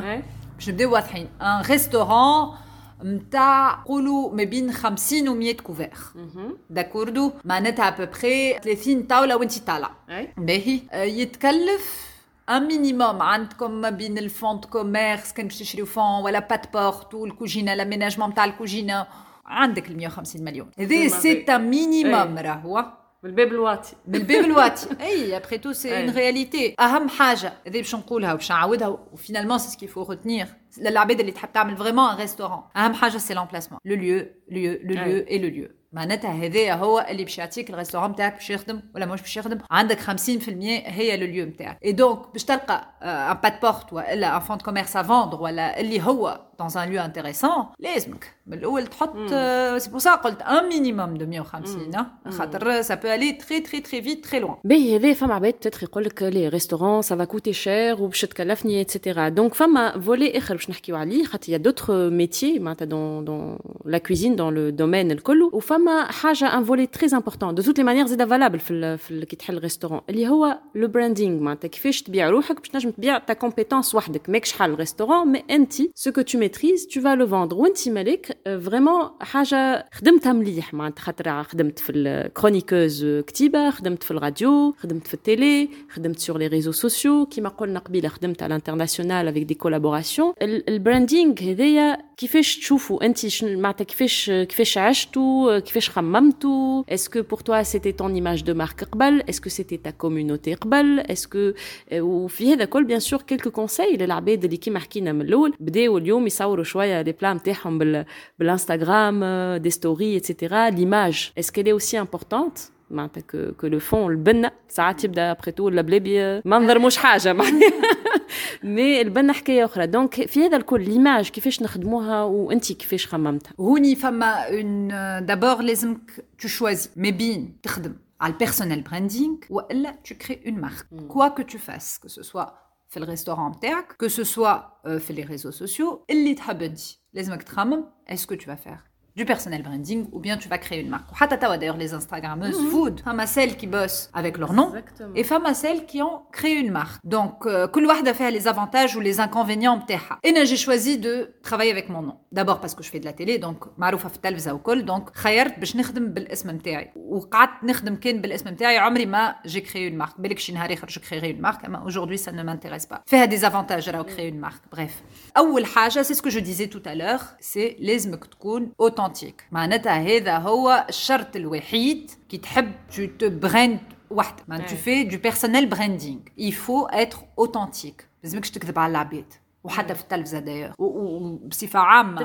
un restaurant متاع قولوا ما بين 50 و 100 كوفير داكوردو معناتها ابوبري 30 طاوله وانت طالع باهي يتكلف un minimum عندكم ما بين الفون كوميرس كان باش تشريو فون ولا بات بورت والكوجينه لاميناجمون تاع الكوجينه عندك ال 150 مليون هذا سي un minimum راهو بالباب الواتي اي ابري تو سي اون رياليتي اهم حاجه هذه باش نقولها وباش نعاودها وفينالمون سي سكي فو ريتنير للعباد اللي تحب تعمل فريمون ان ريستورون اهم حاجه سي لامبلاسمون لو ليو اي لو ليو معناتها هذا هو اللي باش يعطيك الريستورون نتاعك باش يخدم ولا مش باش يخدم عندك 50% هي لو ليو نتاعك اي دونك باش تلقى ان بات بورت ولا ان فون كوميرس ا فوندر ولا اللي هو dans un lieu intéressant لازمك من الاول تحط سي بور سا قلت ان مينيموم دو 150 خاطر ça peut aller très vite très loin باهي هذا فما عباد تتر يقول لك لي ريستورون ça va coûter cher وباش تكلفني etc donc فما فولي اخر باش نحكيو عليه خاطر يا دوتر ميتيي معناتها dans la cuisine dans le domaine الكل وفما حاجه ان فولي تري امبورطون دو توت لي مانيير زيد فالابل في كي تحل ريستورون اللي هو لو براندينغ معناتها كيفاش تبيع روحك باش تنجم تبيع تا كومبيتونس وحدك ماكش حل ريستورون مي انت سو كو تو ميتريز tu vas le vendre وانت مالك فريمون حاجه خدمتها مليح معناتها خاطر خدمت في الكرونيكوز كتيبه خدمت في الراديو خدمت في التيلي خدمت سور لي ريزو سوسيو كيما قلنا قبيله خدمت على الانترناسيونال افيك دي كولابوراسيون البراندينغ هذايا كيفاش تشوفوا انت معناتها كيفاش عشتوا كيفاش خممتوا اسكو بور توا سيتي طون ايماج دو مارك قبل اسكو سيتي تا كوميونيتي قبل اسكو وفي هذا كل بيان سور كيلكو كونساي للعباد اللي كيما حكينا من الاول بداو اليوم يصوروا شويه لي بلا نتاعهم بالانستغرام دي ستوري ايتترا ليماج اسكو لي اوسي امبورطونت معناتها كو لو فون البنه ساعات يبدا ابري تو البلابي منظر مش حاجه معناها مي البنه حكايه اخرى دونك في هذا الكل ليماج كيفاش نخدموها وانت كيفاش خممتها هوني فما اون دابور لازمك تو شوازي ما بين تخدم على البيرسونيل براندينغ والا تو كري اون مارك كوا كو تو فاس كو سو سوا في الريستوران نتاعك كو سو سوا في لي ريزو سوسيو اللي تحب انت لازمك تخمم اسكو تو فا فير du personnel branding ou bien tu vas créer une marque. D'ailleurs, les Instagrammeuses food, femme à celles qui bossent avec leur nom et femme à celles qui ont créé une marque. Donc, كل واحدة فيها les avantages ou les inconvénients بتاعها. Et j'ai choisi de travailler avec mon nom. D'abord parce que je fais de la télé, donc معروفة في التلفزة وكل. Donc, خيرت باش نخدم بالاسم نتاعي. وقعدت نخدم كان بالاسم نتاعي عمري ما j'ai créé une marque. بالك شي نهار آخر je créerai une marque. Mais aujourd'hui, ça ne m'intéresse pas. فيها des avantages راهو créer une marque. Bref. أول حاجة, c'est ce que je disais tout à l'heure, c'est لازمك تكون authentique. معناتها هذا هو الشرط الوحيد كي تحب tu te brandes وحدك ما tu fais du personnel branding il faut être authentique لازمكش تكذب على العباد وحتى في التلفزة داير وبصفة عامة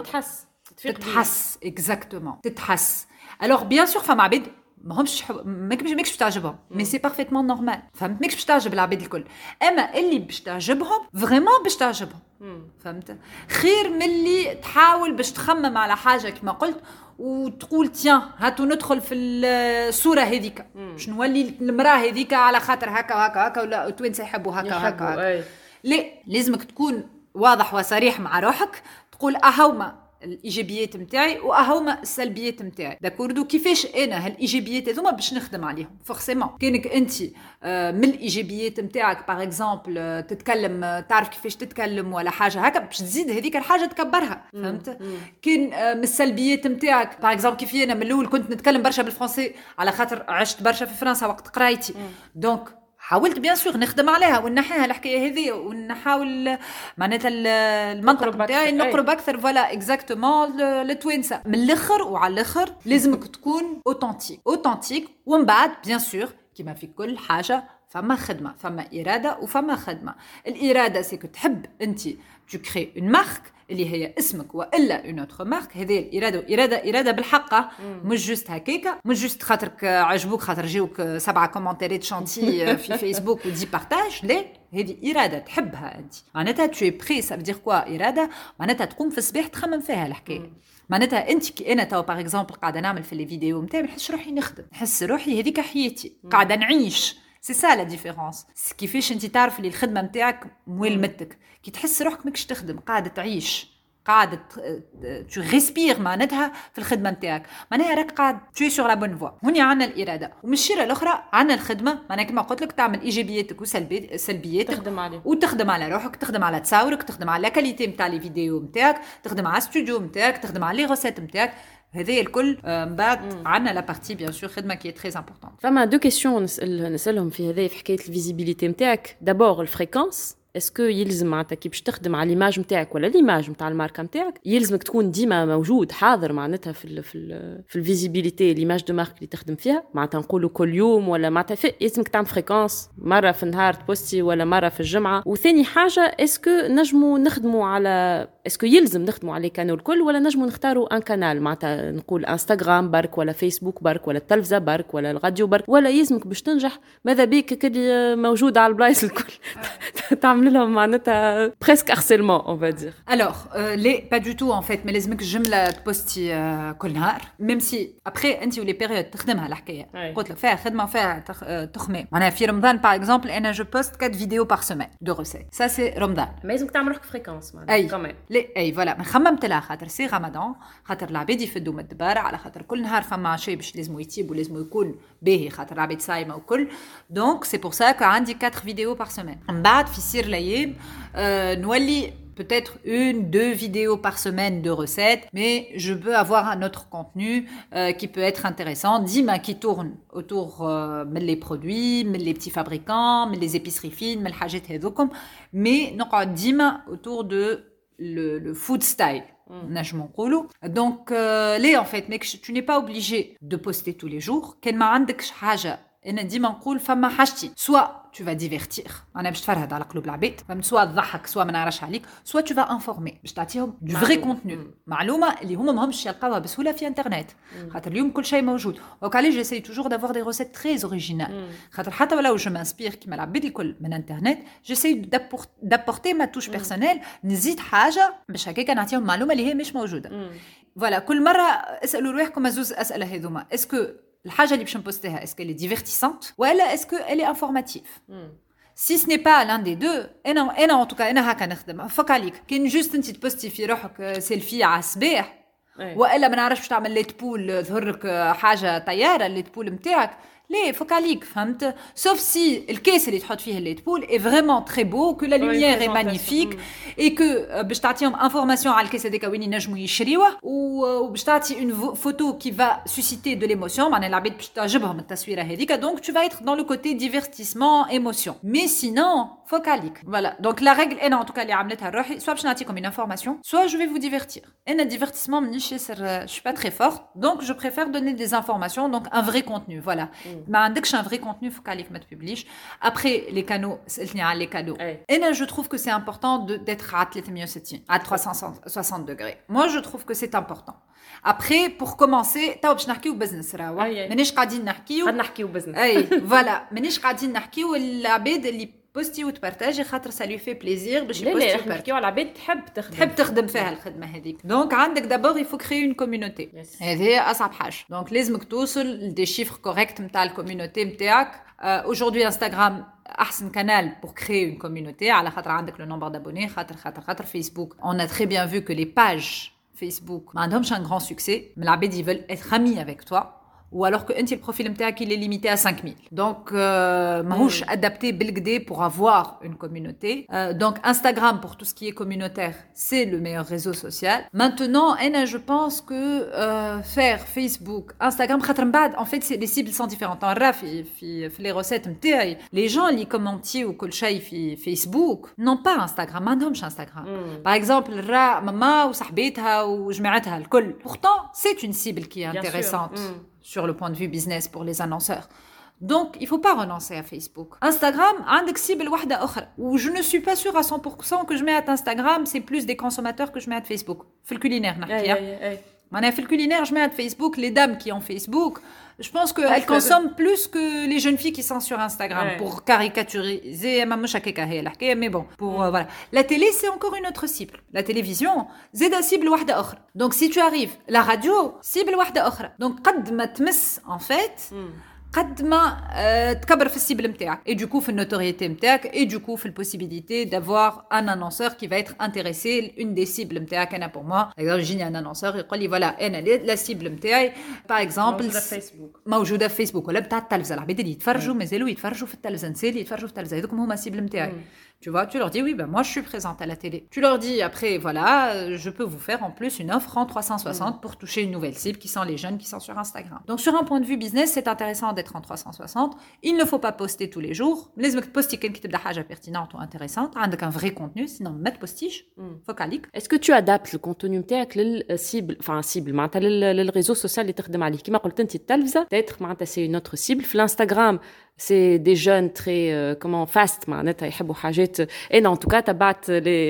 تتحس exactement تتحس alors bien sûr فما عباد ماهمش ماكش تعجبهم مي سي بارفيتمون نورمال فهمت ماكش باش تعجب العباد الكل اما اللي باش تعجبهم فريمون باش تعجبهم فهمت خير من اللي تحاول باش تخمم على حاجه كما قلت وتقول تيان هاتو ندخل في الصوره هذيك باش نولي المراه هذيك على خاطر هكا وهكا هكا ولا التوانسه يحبوا هكا وهكا لا لازمك تكون واضح وصريح مع روحك تقول اهوما الايجابيات نتاعي وهما السلبيات نتاعي داكوردو كيفاش انا هالايجابيات هذوما باش نخدم عليهم فورسيمون كانك انت من الايجابيات نتاعك باغ اكزومبل تتكلم تعرف كيفاش تتكلم ولا حاجه هكا باش تزيد هذيك الحاجه تكبرها فهمت كان من السلبيات نتاعك باغ اكزومبل كيف انا من الاول كنت نتكلم برشا بالفرنسي على خاطر عشت برشا في فرنسا وقت قرايتي دونك حاولت بيان سور نخدم عليها ونحيها الحكايه هذه ونحاول معناتها المنطق نتاعي نقرب اكثر فوالا اكزاكتومون للتوانسه من الاخر وعلى الاخر لازمك تكون اوتنتيك ومن بعد بيان سور كيما في كل حاجه فما خدمه فما اراده وفما خدمه الاراده سيكو تحب انت tu crées une marque اللي هي اسمك والا اون اوتر مارك هذه الاراده بالحق مش جوست هكاكا مش جوست خاطرك عجبوك خاطر جاوك 7 كومنتات شانتي في فيسبوك ودي بارتاج لا هذه اراده تحبها انت معناتها tu es prêt ça veut dire quoi اراده معناتها تقوم في الصباح تخمم فيها الحكايه معناتها انت كي انا تو باغ اكزومبل قاعده نعمل في لي فيديو نتاعي نحس روحي نخدم نحس روحي هذيك حياتي قاعده نعيش سي سا لا ديفيرونس كيفاش انت تعرف اللي الخدمه نتاعك مولمتك كي تحس روحك ماكش تخدم قاعده تعيش قاعده تو ريسبير معناتها في الخدمه نتاعك معناها راك قاعد تو سور لا بون فوا هوني عندنا الاراده ومن الشيره الاخرى عندنا الخدمه معناها كما قلت لك تعمل ايجابياتك وسلبياتك تخدم عليه وتخدم على روحك تخدم على تصاورك تخدم على لا كاليتي نتاع لي فيديو نتاعك تخدم على ستوديو نتاعك تخدم على لي غوسيت نتاعك هذا الكل من بعد عندنا لا بارتي بيان سور خدمه كي تري امبورطون فما دو كيسيون نسالهم في هذا في حكايه الفيزيبيليتي نتاعك دابور الفريكونس اسكو يلزم معناتها كي باش تخدم على ليماج نتاعك ولا ليماج نتاع الماركه نتاعك يلزمك تكون ديما موجود حاضر معناتها في الفيزيبيليتي ليماج دو مارك اللي تخدم فيها معناتها نقولوا كل يوم ولا معناتها يلزمك تعمل فريكونس مره في النهار تبوستي ولا مره في الجمعه وثاني حاجه اسكو نجموا نخدموا على اسكو يلزم نخدموا على كانال الكل ولا نجموا نختاروا ان كانال معناتها نقول انستغرام برك ولا فيسبوك برك ولا التلفزه برك ولا الراديو برك ولا يلزمك باش تنجح ماذا بيك كلي موجود على البلايص الكل تعمل لهم معناتها presque harcèlement on va dire alors les pas du tout en fait mais لازمك جمله تبوستي كل نهار même si après انت ولي بيريود تخدمها الحكايه قلت لك فيها خدمه وفيها تخمام معناها في رمضان باغ اكزومبل انا جو بوست 4 فيديو بار سيمين دو ريسيت ça c'est رمضان ما لازمك تعمل روحك فريكونس معناتها كمان اي فوالا ما خممت لها خاطر سي رمضان خاطر العباد يفدوا من الدبار على خاطر كل نهار فما شيء باش لازم يتيب ولازم يكون باهي خاطر العباد صايمه وكل دونك سي بور سا كو عندي 4 فيديو بار سيمين من بعد في سير الايام نولي peut-être 1-2 vidéos par semaine de recettes, mais je peux avoir un autre contenu qui peut être intéressant, dima qui tourne autour les produits, les petits fabricants, les épiceries fines, les hajet hedokom, mais نقعد dima autour de le food style. Donc là en fait, mec, tu n'es pas obligé de poster tous les jours. Quel ma عندكش حاجة أنا ديما نقول فما حاجتين سوا tu vas divertir انا باش تفرهد على قلوب العباد فهمت سوا تضحك سوا ما نعرفش عليك سوا tu vas informer باش تعطيهم du vrai contenu معلومه اللي هما ماهمش يلقاوها بسهوله في انترنت خاطر اليوم كل شيء موجود دونك عليه جيساي توجور d'avoir des recettes très originales خاطر حتى ولو جو مانسبير كيما العباد الكل من انترنت جيساي d'apporter ma touche personnelle نزيد حاجه باش هكاك نعطيهم معلومه اللي هي مش موجوده فوالا كل مره اسالوا روحكم زوز اسئله هذوما اسكو الحاجه اللي باش نبوستيها اسكو اللي ديفيرتيسانت ولا اسكو اللي انفورماتيف si ce n'est pas l'un des deux انا en tout cas انا هكا نخدم فك عليك كاين جوست انت تبوستي في روحك سيلفي على الصباح والا ما نعرفش تعمل ليت بول ظهر لك حاجه طياره الليت بول نتاعك ليه فوق عليك فهمت سوف سي الكيس اللي تحط فيه الليت بول est vraiment très beau que la lumière est magnifique et que باش تعطيهم انفورماسيون على الكيس هذاك وين ينجموا يشريوه وباش تعطي une photo qui va susciter de l'émotion معناها العباد باش تعجبهم التصويره هذيك donc tu vas être dans le côté divertissement émotion mais sinon فوق عليك voilà donc la règle انا en tout cas اللي عملتها لروحي soit باش نعطيكم une information soit je vais vous divertir انا divertissement مانيش ياسر je suis pas très forte donc je préfère donner des informations donc un vrai contenu voilà ما عندكش un vrai contenu فوق عليك ما تببليش après les canaux سألتني على les canaux انا je trouve que c'est important d'être à 360 à 360 degrés moi je trouve que c'est important après pour commencer تو باش نحكيو بزنس راهو مانيش قاعدين نحكيو بزنس اي فوالا مانيش قاعدين نحكيو العباد اللي بوستي وتبارتاجي خاطر ça lui fait plaisir باش يبوستي لا نحكيو على العباد تحب تخدم فيها الخدمه هذيك دونك عندك دابور il faut créer une communauté هذه اصعب حاجه دونك لازمك توصل لدي شيفر كوريكت نتاع الكوميونيتي نتاعك aujourd'hui Instagram احسن canal pour créer une communauté على خاطر عندك le nombre d'abonnés خاطر Facebook on a très bien vu que les pages Facebook ما عندهمش un grand succès mais العباد ils veulent être amis avec toi ou alors que le profil نتاعك il est limité à 5000 donc ماهوش adapté بالكدا pour avoir une communauté donc Instagram pour tout ce qui est communautaire c'est le meilleur réseau social maintenant je pense que faire Facebook Instagram خاطر من بعد en fait les cibles sont différentes نرا في les recettes نتاعي les gens اللي كومونتيو وكل شيء في فيسبوك non pas Instagram ما عندهمش Instagram par exemple نرا ماما وصاحبتها وجماعتها الكل pourtant c'est une cible qui est intéressante sur le point de vue business pour les annonceurs. Donc, il ne faut pas renoncer à Facebook. Instagram, عندك cible واحدة أخرى. Ou je ne suis pas sûre à 100% que je mets à Instagram, c'est plus des consommateurs que je mets à Facebook. في الculinaire, نحكي. معناها في الculinaire, je mets à Facebook les dames qui ont Facebook. Je pense qu'elles consomment plus que les jeunes filles qui sont sur Instagram pour caricaturiser. Mais bon, pour voilà. La télé, c'est encore une autre cible. La télévision, c'est une cible واحدة أخرى. Donc, si tu arrives, la radio, cible واحدة أخرى. Donc, قد ما تمس, en fait, قد ما تكبر في السيبل نتاعك et du coup في النوتوريتي نتاعك et du coup في البوسيبيليتي d'avoir un annonceur qui va être intéressé une des cibles نتاعك انا pour moi يجيني un annonceur يقول لي voilà انا la cible نتاعي par exemple موجوده في فيسبوك ولا بتاع التلفزه العباد اللي يتفرجوا مازالوا يتفرجوا في التلفزه نسالي يتفرجوا في التلفزه هذوك هما السيبل نتاعي Tu vois, tu leur dis, oui, ben moi, je suis présente à la télé. Tu leur dis, après, voilà, je peux vous faire en plus une offre en 360 pour toucher une nouvelle cible qui sont les jeunes qui sont sur Instagram. Donc, sur un point de vue business, c'est intéressant d'être en 360. Il ne faut pas poster tous les jours. Les poster quelqu'un qui te dit pertinente ou intéressante, avec un vrai contenu, sinon, mettre postige, focalique. Est-ce que tu adaptes le contenu نتاعك للcible, enfin, cible, معناتها للريزو سوسيال اللي تخدم عليه. كما قلت انت التلفزة, peut-être معناتها c'est une autre cible. في l'Instagram, c'est des jeunes très fast معناتها يحبوا حاجات et non en tout cas تبعت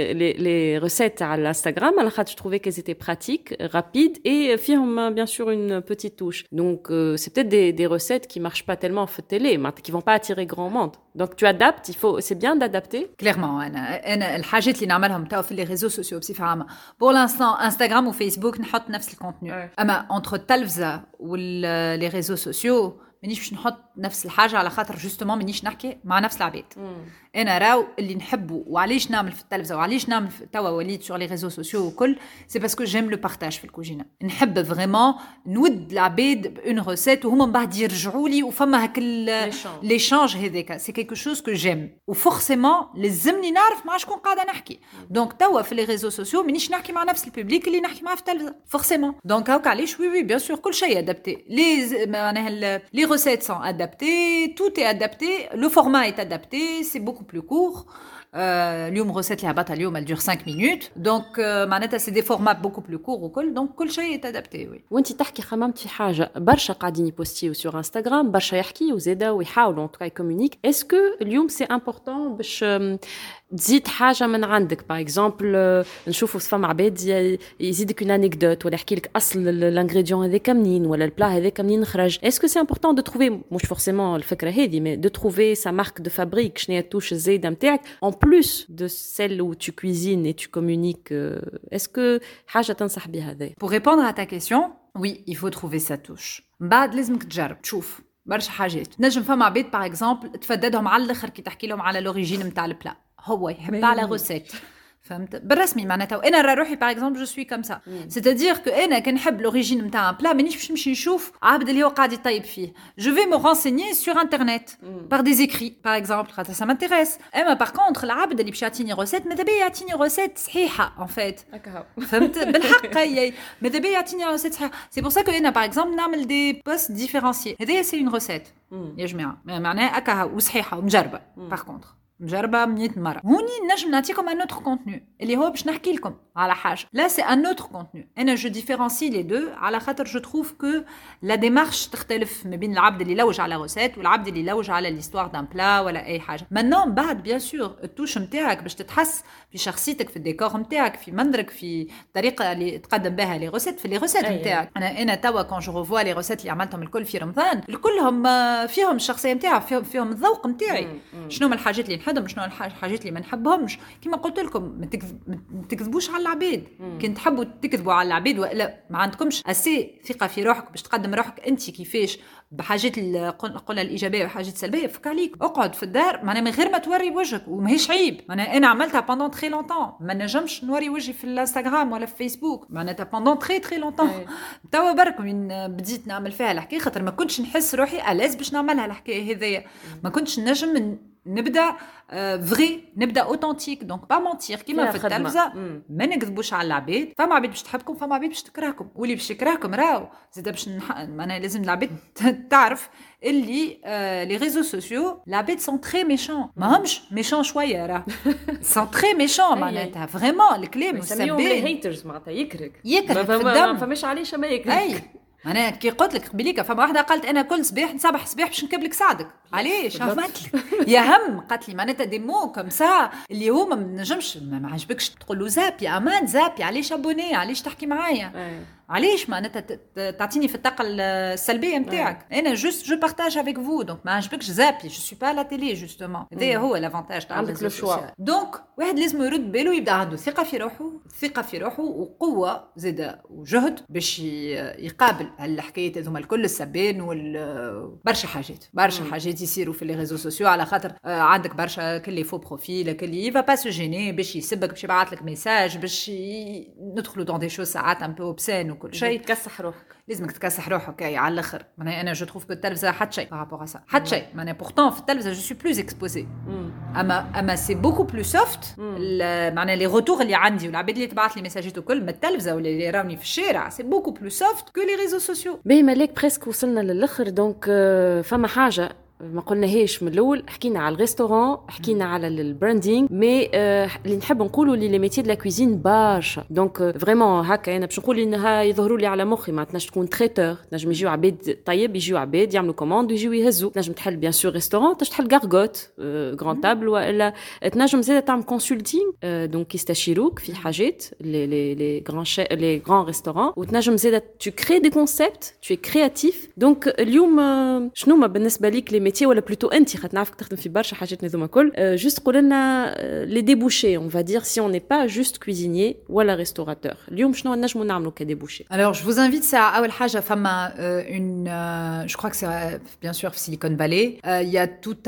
les recettes على الانستغرام على خاطر je trouvais qu'elles étaient pratiques rapides et فيهم bien sûr une petite touche donc c'est peut-être des recettes qui marchent pas tellement في التélé qui vont pas attirer grand monde donc tu adaptes c'est bien d'adapter clairement انا الحاجات اللي نعملهم تاو في les réseaux sociaux بصفه عامه pour l'instant Instagram ou Facebook نحط نفس الكونتوني اما entre التلفزه وال les réseaux sociaux مانيش باش نحط نفس الحاجه على خاطر جوستومون مانيش نحكي مع نفس العباد انا راو اللي نحبه وعلاش نعمل في التلفزه وعلاش نعمل توا وليد سور لي ريزو سوسيو وكل سي باسكو جيم لو بارتاج في الكوجينه نحب فريمون نود العباد بون ريسيت وهما من بعد يرجعوا لي وفما هاك ليشانج هذاك سي كيكو شوز كو جيم وفورسيمون لازمني نعرف مع شكون قاعده نحكي دونك توا في لي ريزو سوسيو مانيش نحكي مع نفس البوبليك اللي نحكي معاه في التلفزه فورسيمون دونك هاك علاش وي بيان سور كل شيء ادابتي معناها لي recettes sont adaptées, tout est adapté, le format est adapté, c'est beaucoup plus court. اليوم recette اللي هبطها اليوم elle dure 5 minutes donc معناتها c'est des formats beaucoup plus courts وكل donc كل شيء est adapté oui. وانت تحكي خممت في حاجه برشا قاعدين يبوستيو sur Instagram برشا يحكيوا زاده ويحاولوا en tout cas يكومونيك est-ce que اليوم c'est important باش تزيد حاجه من عندك باغ اكزومبل نشوفوا فما عباد يزيدك اون انيكدوت ولا يحكي لك اصل الانغريديون هذاك منين ولا البلا هذاك منين خرج est-ce que c'est important de trouver مش forcément الفكره هذه mais de trouver sa marque de fabrique شنو هي التوش الزايده نتاعك en plus de celle où tu cuisines et tu communiques est-ce que حاجه تنصح بها هذا pour répondre à ta question oui il faut trouver sa touche بعد لازمك تجرب تشوف برشا حاجات نجم فما عباد باغ اكزومبل تفددهم على الاخر كي تحكي لهم على لوريجين نتاع البلا هو يحب على غوسيت فهمت بالرسمي معناتها وانا روحي باغ اكزومبل جو سوي كوم سا سيتادير كو انا كنحب لوريجين نتاع ان بلا مانيش باش نمشي نشوف عبد اللي هو قاعد يطيب فيه جو في مو رانسيني سور انترنت بار دي زيكري باغ اكزومبل خاطر سا مانتيريس اما باغ كونطخ العبد اللي باش يعطيني روسيت ماذا بيا يعطيني روسيت صحيحه ان فيت فهمت بالحق هي ماذا بيا يعطيني روسيت صحيحه سي بور سا كو انا باغ اكزومبل نعمل دي بوست ديفيرونسيي هذايا سي اون روسيت يا جماعه معناها هكا وصحيحه ومجربه باغ كونطخ مجربه 100 مره هوني نجم نعطيكم ان اوتر كونتوني اللي هو باش نحكي لكم على حاجه لا سي ان اوتر كونتوني انا جو ديفيرونسي لي دو على خاطر جو تروف كو لا ديمارش تختلف ما بين العبد اللي يلوج على روسيت والعبد اللي يلوج على ليستوار دان بلا ولا اي حاجه مانون بعد بيان سور التوش نتاعك باش تتحس في شخصيتك في الديكور نتاعك في منظرك في الطريقه اللي تقدم بها لي روسيت في لي روسيت نتاعك انا توا كون جو ريفوا لي روسيت اللي عملتهم الكل في رمضان الكلهم فيهم الشخصيه نتاعي فيهم الذوق نتاعي شنو من الحاجات اللي نحبهم شنو الحاجات اللي ما نحبهمش. كما قلت لكم ما تكذبوش على العباد. كنت تحبوا تكذبوا على العباد ولا ما عندكمش اسي ثقه في روحك باش تقدم روحك انت كيفاش بحاجات قلنا الايجابيه وحاجات سلبيه، فك عليك اقعد في الدار معناها من غير ما توري وجهك، وماهيش عيب. معناها انا عملتها بوندون تري لونتون، ما نجمش نوري وجهي في الانستغرام ولا في فيسبوك معناتها بوندون تري لونتون. توا برك من بديت نعمل فيها الحكايه خاطر ما كنتش نحس روحي ألاز باش نعملها الحكايه هذيا، ما كنتش نجم نبدا فري، نبدا اوتنتيك. دونك با مونتير كيما في التلفزه، ما نكذبوش على العباد. فما عباد باش تحبكم، فما عباد باش تكرهكم، واللي باش يكرهكم راهو زيد باش معناها لازم العباد تعرف اللي لي ريزو سوسيو العباد سون تري ميشون، ماهمش ميشون شويه راه سون تري ميشون معناتها فريمون الكلام يسميهم لي هيترز معناتها يكرك في الدم، ما فماش علاش ما يكرك. اي انا كي قلت لك قبليك فما واحده قالت انا كل صباح نصبح صباح باش نكبلك سعدك، علاش عملت لك يا هم قالت لي معناتها دي مو كم سا اللي هما ما نجمش ما عجبكش تقول له زابي امان زابي علاش ابوني علاش تحكي معايا علاش معناتها تعطيني في الطاقه السلبيه نتاعك. انا جوست جو بارتاج افيك فو دونك ما عجبكش زابي جو سوي با لا تيلي جوستومون. هذا هو لافونتاج تاع عندك لو شوا. دونك واحد لازم يرد باله يبدا عنده ثقه في روحه وقوه زاده وجهد باش يقابل هالحكايات هذوما الكل السبان برشا حاجات يصيروا في لي ريزو سوسيو على خاطر عندك برشا كلي فو بروفيل كلي يفا با سو جيني باش يسبك باش يبعث لك ميساج باش ندخلوا دون دي شو ساعات ان بو اوبسين وكل شيء. تكسح روحك، لازمك تكسح روحك على الاخر. انا جو تروف كو التلفزه حتى شيء بارابور سا حتى شيء معناها بورتون في التلفزه جو سوي بلوز اكسبوزي اما سي بوكو بلو سوفت معناها لي روتور اللي عندي والعباد اللي تبعث لي ميساجات وكل من التلفزه ولا اللي راوني في الشارع سي بوكو بلو سوفت كو لي ريزو سوسيو. باهي مالك بريسك وصلنا للاخر. دونك فما حاجه ما قلناهاش من الاول، حكينا على الريستوران، حكينا على البراندينغ، مي اللي نحب نقولوا لي ميتي دو لا كوزين برشا. دونك فريمون هكا انا باش نقول انها يظهروا لي على مخي، ما تنجم تكون تريتور، تنجم يجيو عباد طيب، يجيو عباد يعملوا كوموند ويجيو يهزوا، تنجم تحل بيان سور ريستوران، تحل غارغوت غران تابل، ولا تنجم زيد تعمل كونسلتينغ دونك يستشيروك في حاجات لي غران ريستوران، وتنجم زيد تو كري دي كونسيبت، تو كرياتيف. دونك اليوم شنو ما بالنسبه ليك لي ولا بلوتو انت خاطر نعرفك تخدم في برشا حاجات هذوما كل جوست قول لنا لي ديبوشي اون فا دير سي اون ني با جوست كويزينير ولا ريستوراتور. اليوم شنو نجموا نعملوا كديبوشي؟ Alors je vous invite ça اول حاجه فما une je crois que c'est bien sûr Silicon Valley il y a tout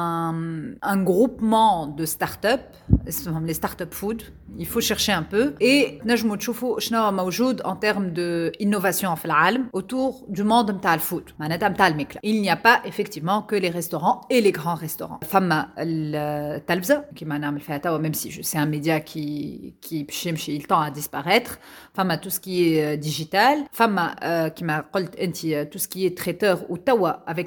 un groupement de start-up اسمهم les start-up food. Il faut chercher un peu et نجموا تشوفوا شنو موجود en termes de innovation في العالم autour du monde نتاع الفود معناتها نتاع الماكله. Il n'y a pas effectivement que les restaurants et les grands restaurants. فما التلفزة كيما نعمل فيها توا même si c'est un média qui يمشي il tend à disparaître. فما tout ce qui est digital. فما كيما قلت انت tout ce qui est traiteur ou توا avec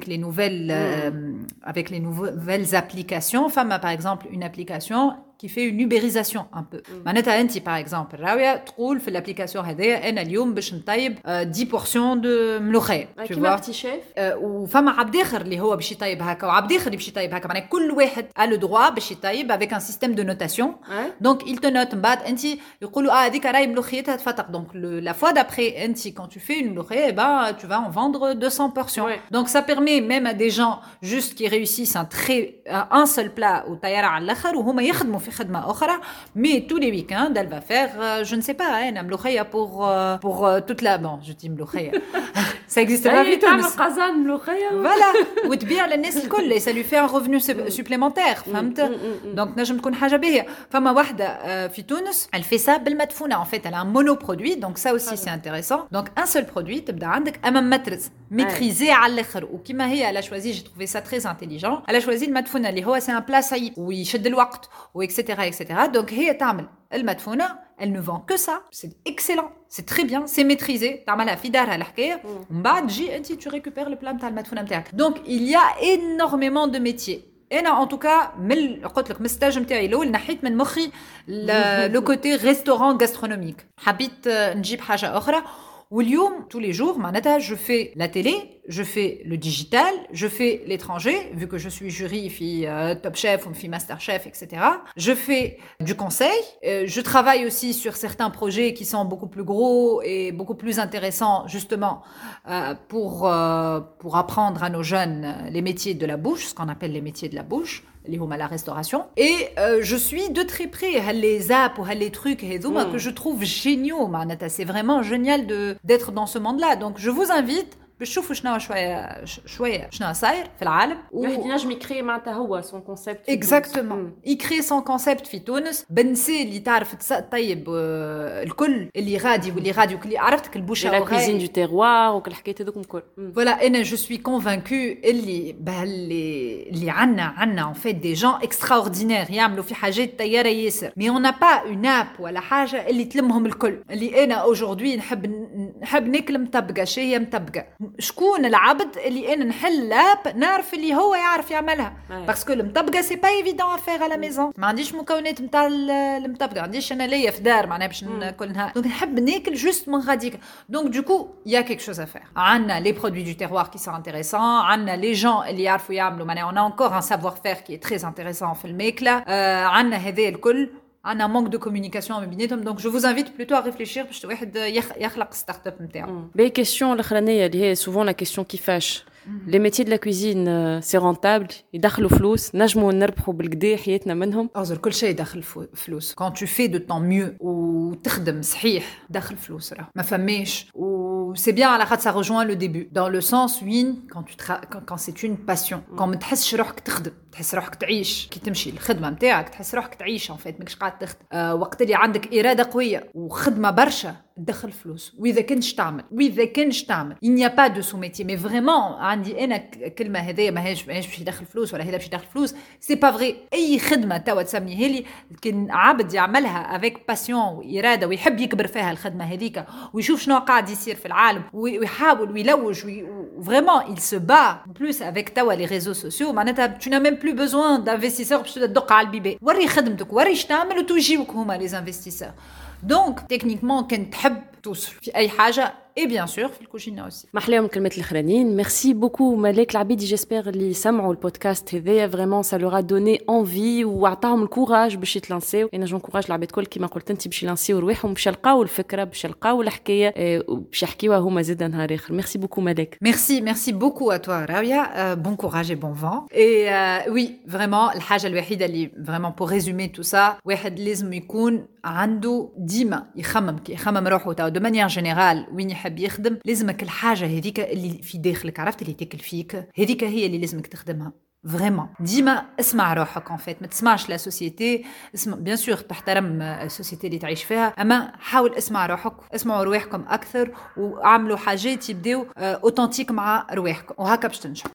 les nouvelles applications. فما par exemple une application qui fait une ubérisation un peu. معناتها انت par exemple راويه تقول في الابليكاسيون هذايا انا اليوم باش نطيب 10 بورسيون دو ملوخيه كيما بتي شيف. وفما عبد اخر اللي هو باش يطيب هكا وعبد اخر اللي باش يطيب هكا معناها كل واحد a le droit باش يطيب avec un système de notation. donc il te note من بعد انت يقولوا هذيك راهي ملوخيتها تفتق. donc la fois d'après انت quand tu fais une ملوخيه tu vas en vendre 200 portions. donc ça permet même à des gens juste qui réussissent un seul plat وطياره على الاخر وهما يخدموا في خدمه اخرى. mais tous les week-ends elle va faire je ne sais pas un ملوخيه pour toute la bon je dis ملوخيه ça existe pas في تونس تعمل قزان ملوخيه voilà وتبيع للناس الكل ça lui fait un revenu supplémentaire فهمت. donc نجم تكون حاجه باهيه. فما واحده في تونس elle fait ça بالمدفونه en fait elle a un monoproduit donc ça aussi c'est intéressant. donc un seul produit تبدا عندك امام مترز maîtrisé على الاخر. وكما هي elle a choisi j'ai trouvé ça très intelligent elle a choisi المدفونه اللي هو c'est un plat صعيب ويشد الوقت etc. donc هي تعمل المدفونه elle ne vend que ça c'est excellent c'est très bien c'est maîtrisé تعملها في دارها الحكايه ومن بعد تجي انت tu récupères le plat نتاع المدفونه نتاعك. donc il y a énormément de métiers. انا en tout cas من قلت لك من الستاج نتاعي الاول نحيت من مخي لو كوتي ريستوران غاسترونوميك حبيت نجيب حاجه اخرى. واليوم tous les jours معناتها je fais la télé je fais le digital je fais l'étranger vu que je suis jury في Top Chef ou في Master Chef etc. je fais du conseil je travaille aussi sur certains projets qui sont beaucoup plus gros et beaucoup plus intéressants justement pour apprendre à nos jeunes les métiers de la bouche ce qu'on appelle les métiers de la bouche اللي هما la restauration. Et je suis de très près les apps ou les trucs que je trouve géniaux. C'est vraiment génial d'être dans ce monde-là. Donc je vous invite باش تشوفوا شويه شنو صاير في العالم واحد ينجم يكري معناتها هو سون كونسيبت اكزاكتومون يكري سون كونسيبت في تونس بنسي اللي تعرف طيب الكل اللي غادي واللي غادي وكل عرفتك البوشه لا كوزين دو تيروار وكل الحكايات هذوك الكل فوالا انا جو سوي كونفانكو اللي عندنا ان فيت دي جون اكستراوردينير يعملوا في حاجات طياره ياسر مي اون نا با اون اب ولا حاجه اللي تلمهم الكل اللي انا اوجوردي نحب ناكل مطبقه شهيه مطبقه شكون العبد اللي انا نحل لاب نعرف اللي هو يعرف يعملها باسكو المطبقه سي با ايفيدون افير على ميزون ما عنديش مكونات نتاع المطبقه ما عنديش انا ليا في دار معناها باش ناكل نهار دونك نحب ناكل جوست من غاديك دونك دوكو يا كيك شوز افير عندنا لي برودوي دو تيروار كي سون انتريسون عندنا لي جون اللي يعرفوا يعملوا معناها اون انكور ان سافوار فير كي تري انتريسون في الماكله عندنا هذا الكل عندنا مونك دو كومونيكاسيون ما بيناتهم دونك جو فوز انفيت بلوتو ا ريفليشير باش واحد يخلق ستارت اب نتاعو بي كيسيون الاخرانيه اللي هي سوفون لا كيسيون كيفاش لي ميتي دو لا كوزين سي رونتابل يدخلوا فلوس نجموا نربحوا بالكدا حياتنا منهم أظهر كل شيء داخل فلوس كون تو في دو طون ميو وتخدم صحيح داخل فلوس راه ما فماش و سي بيان على خاطر ça rejoint le début dans le sens وين quand c'est une passion quand ما تحسش روحك تخدم تحس روحك تعيش كي تمشي الخدمه نتاعك تحس روحك تعيش ان فيت ماكش قاعد تخدم وقت اللي عندك اراده قويه وخدمه برشا تدخل فلوس واذا كنتش تعمل il n'y a pas de sous-métier mais vraiment عندي انا كلمه هذه ماهيش باش يدخل فلوس ولا هذا باش يدخل فلوس سي با فري اي خدمه توا تسميها لي كان عبد يعملها افيك باسيون واراده ويحب يكبر فيها الخدمه هذيك ويشوف شنو قاعد يصير في العالم ويحاول ويلوج vraiment il se bat en plus avec توا les réseaux sociaux معناتها tu n'as même plus besoin d'investisseurs باش تدق على البيبي وري خدمتك وري اش تعمل وتجيوك هما les investisseurs donc techniquement كان تحب توصل في اي حاجه et bien sûr في الكوجينه aussi محلاهم الكلمات الاخرانيين ميرسي بوكو ملاك العبيدي جيسبر اللي سمعوا البودكاست هذايا فريمون سا لورا دوني انفي وعطاهم الكوراج باش يتلانسيو انا جونكوراج العباد الكل كيما قلت انت باش يلانسيو رواحهم باش يلقاو الفكره باش يلقاو الحكايه وباش يحكيوها هما زاد نهار اخر ميرسي بوكو ملاك ميرسي بوكو à toi راويا بون كوراج et bon vent et oui vraiment الحاجه الوحيده اللي vraiment pour résumer tout ça واحد لازم يكون عنده ديما يخمم روحه تاع دو مانيير جينيرال وين يحب يخدم لازمك الحاجه هذيك اللي في داخلك عرفت اللي تاكل فيك هذيك هي اللي لازمك تخدمها فريمون ديما اسمع روحك ان فيت ما تسمعش لا سوسيتي اسمع بيان سور تحترم السوسيتي اللي تعيش فيها اما حاول اسمع روحك اسمعوا رواحكم اكثر وعملوا حاجات يبداو اوتنتيك مع رواحكم وهكا باش تنجحوا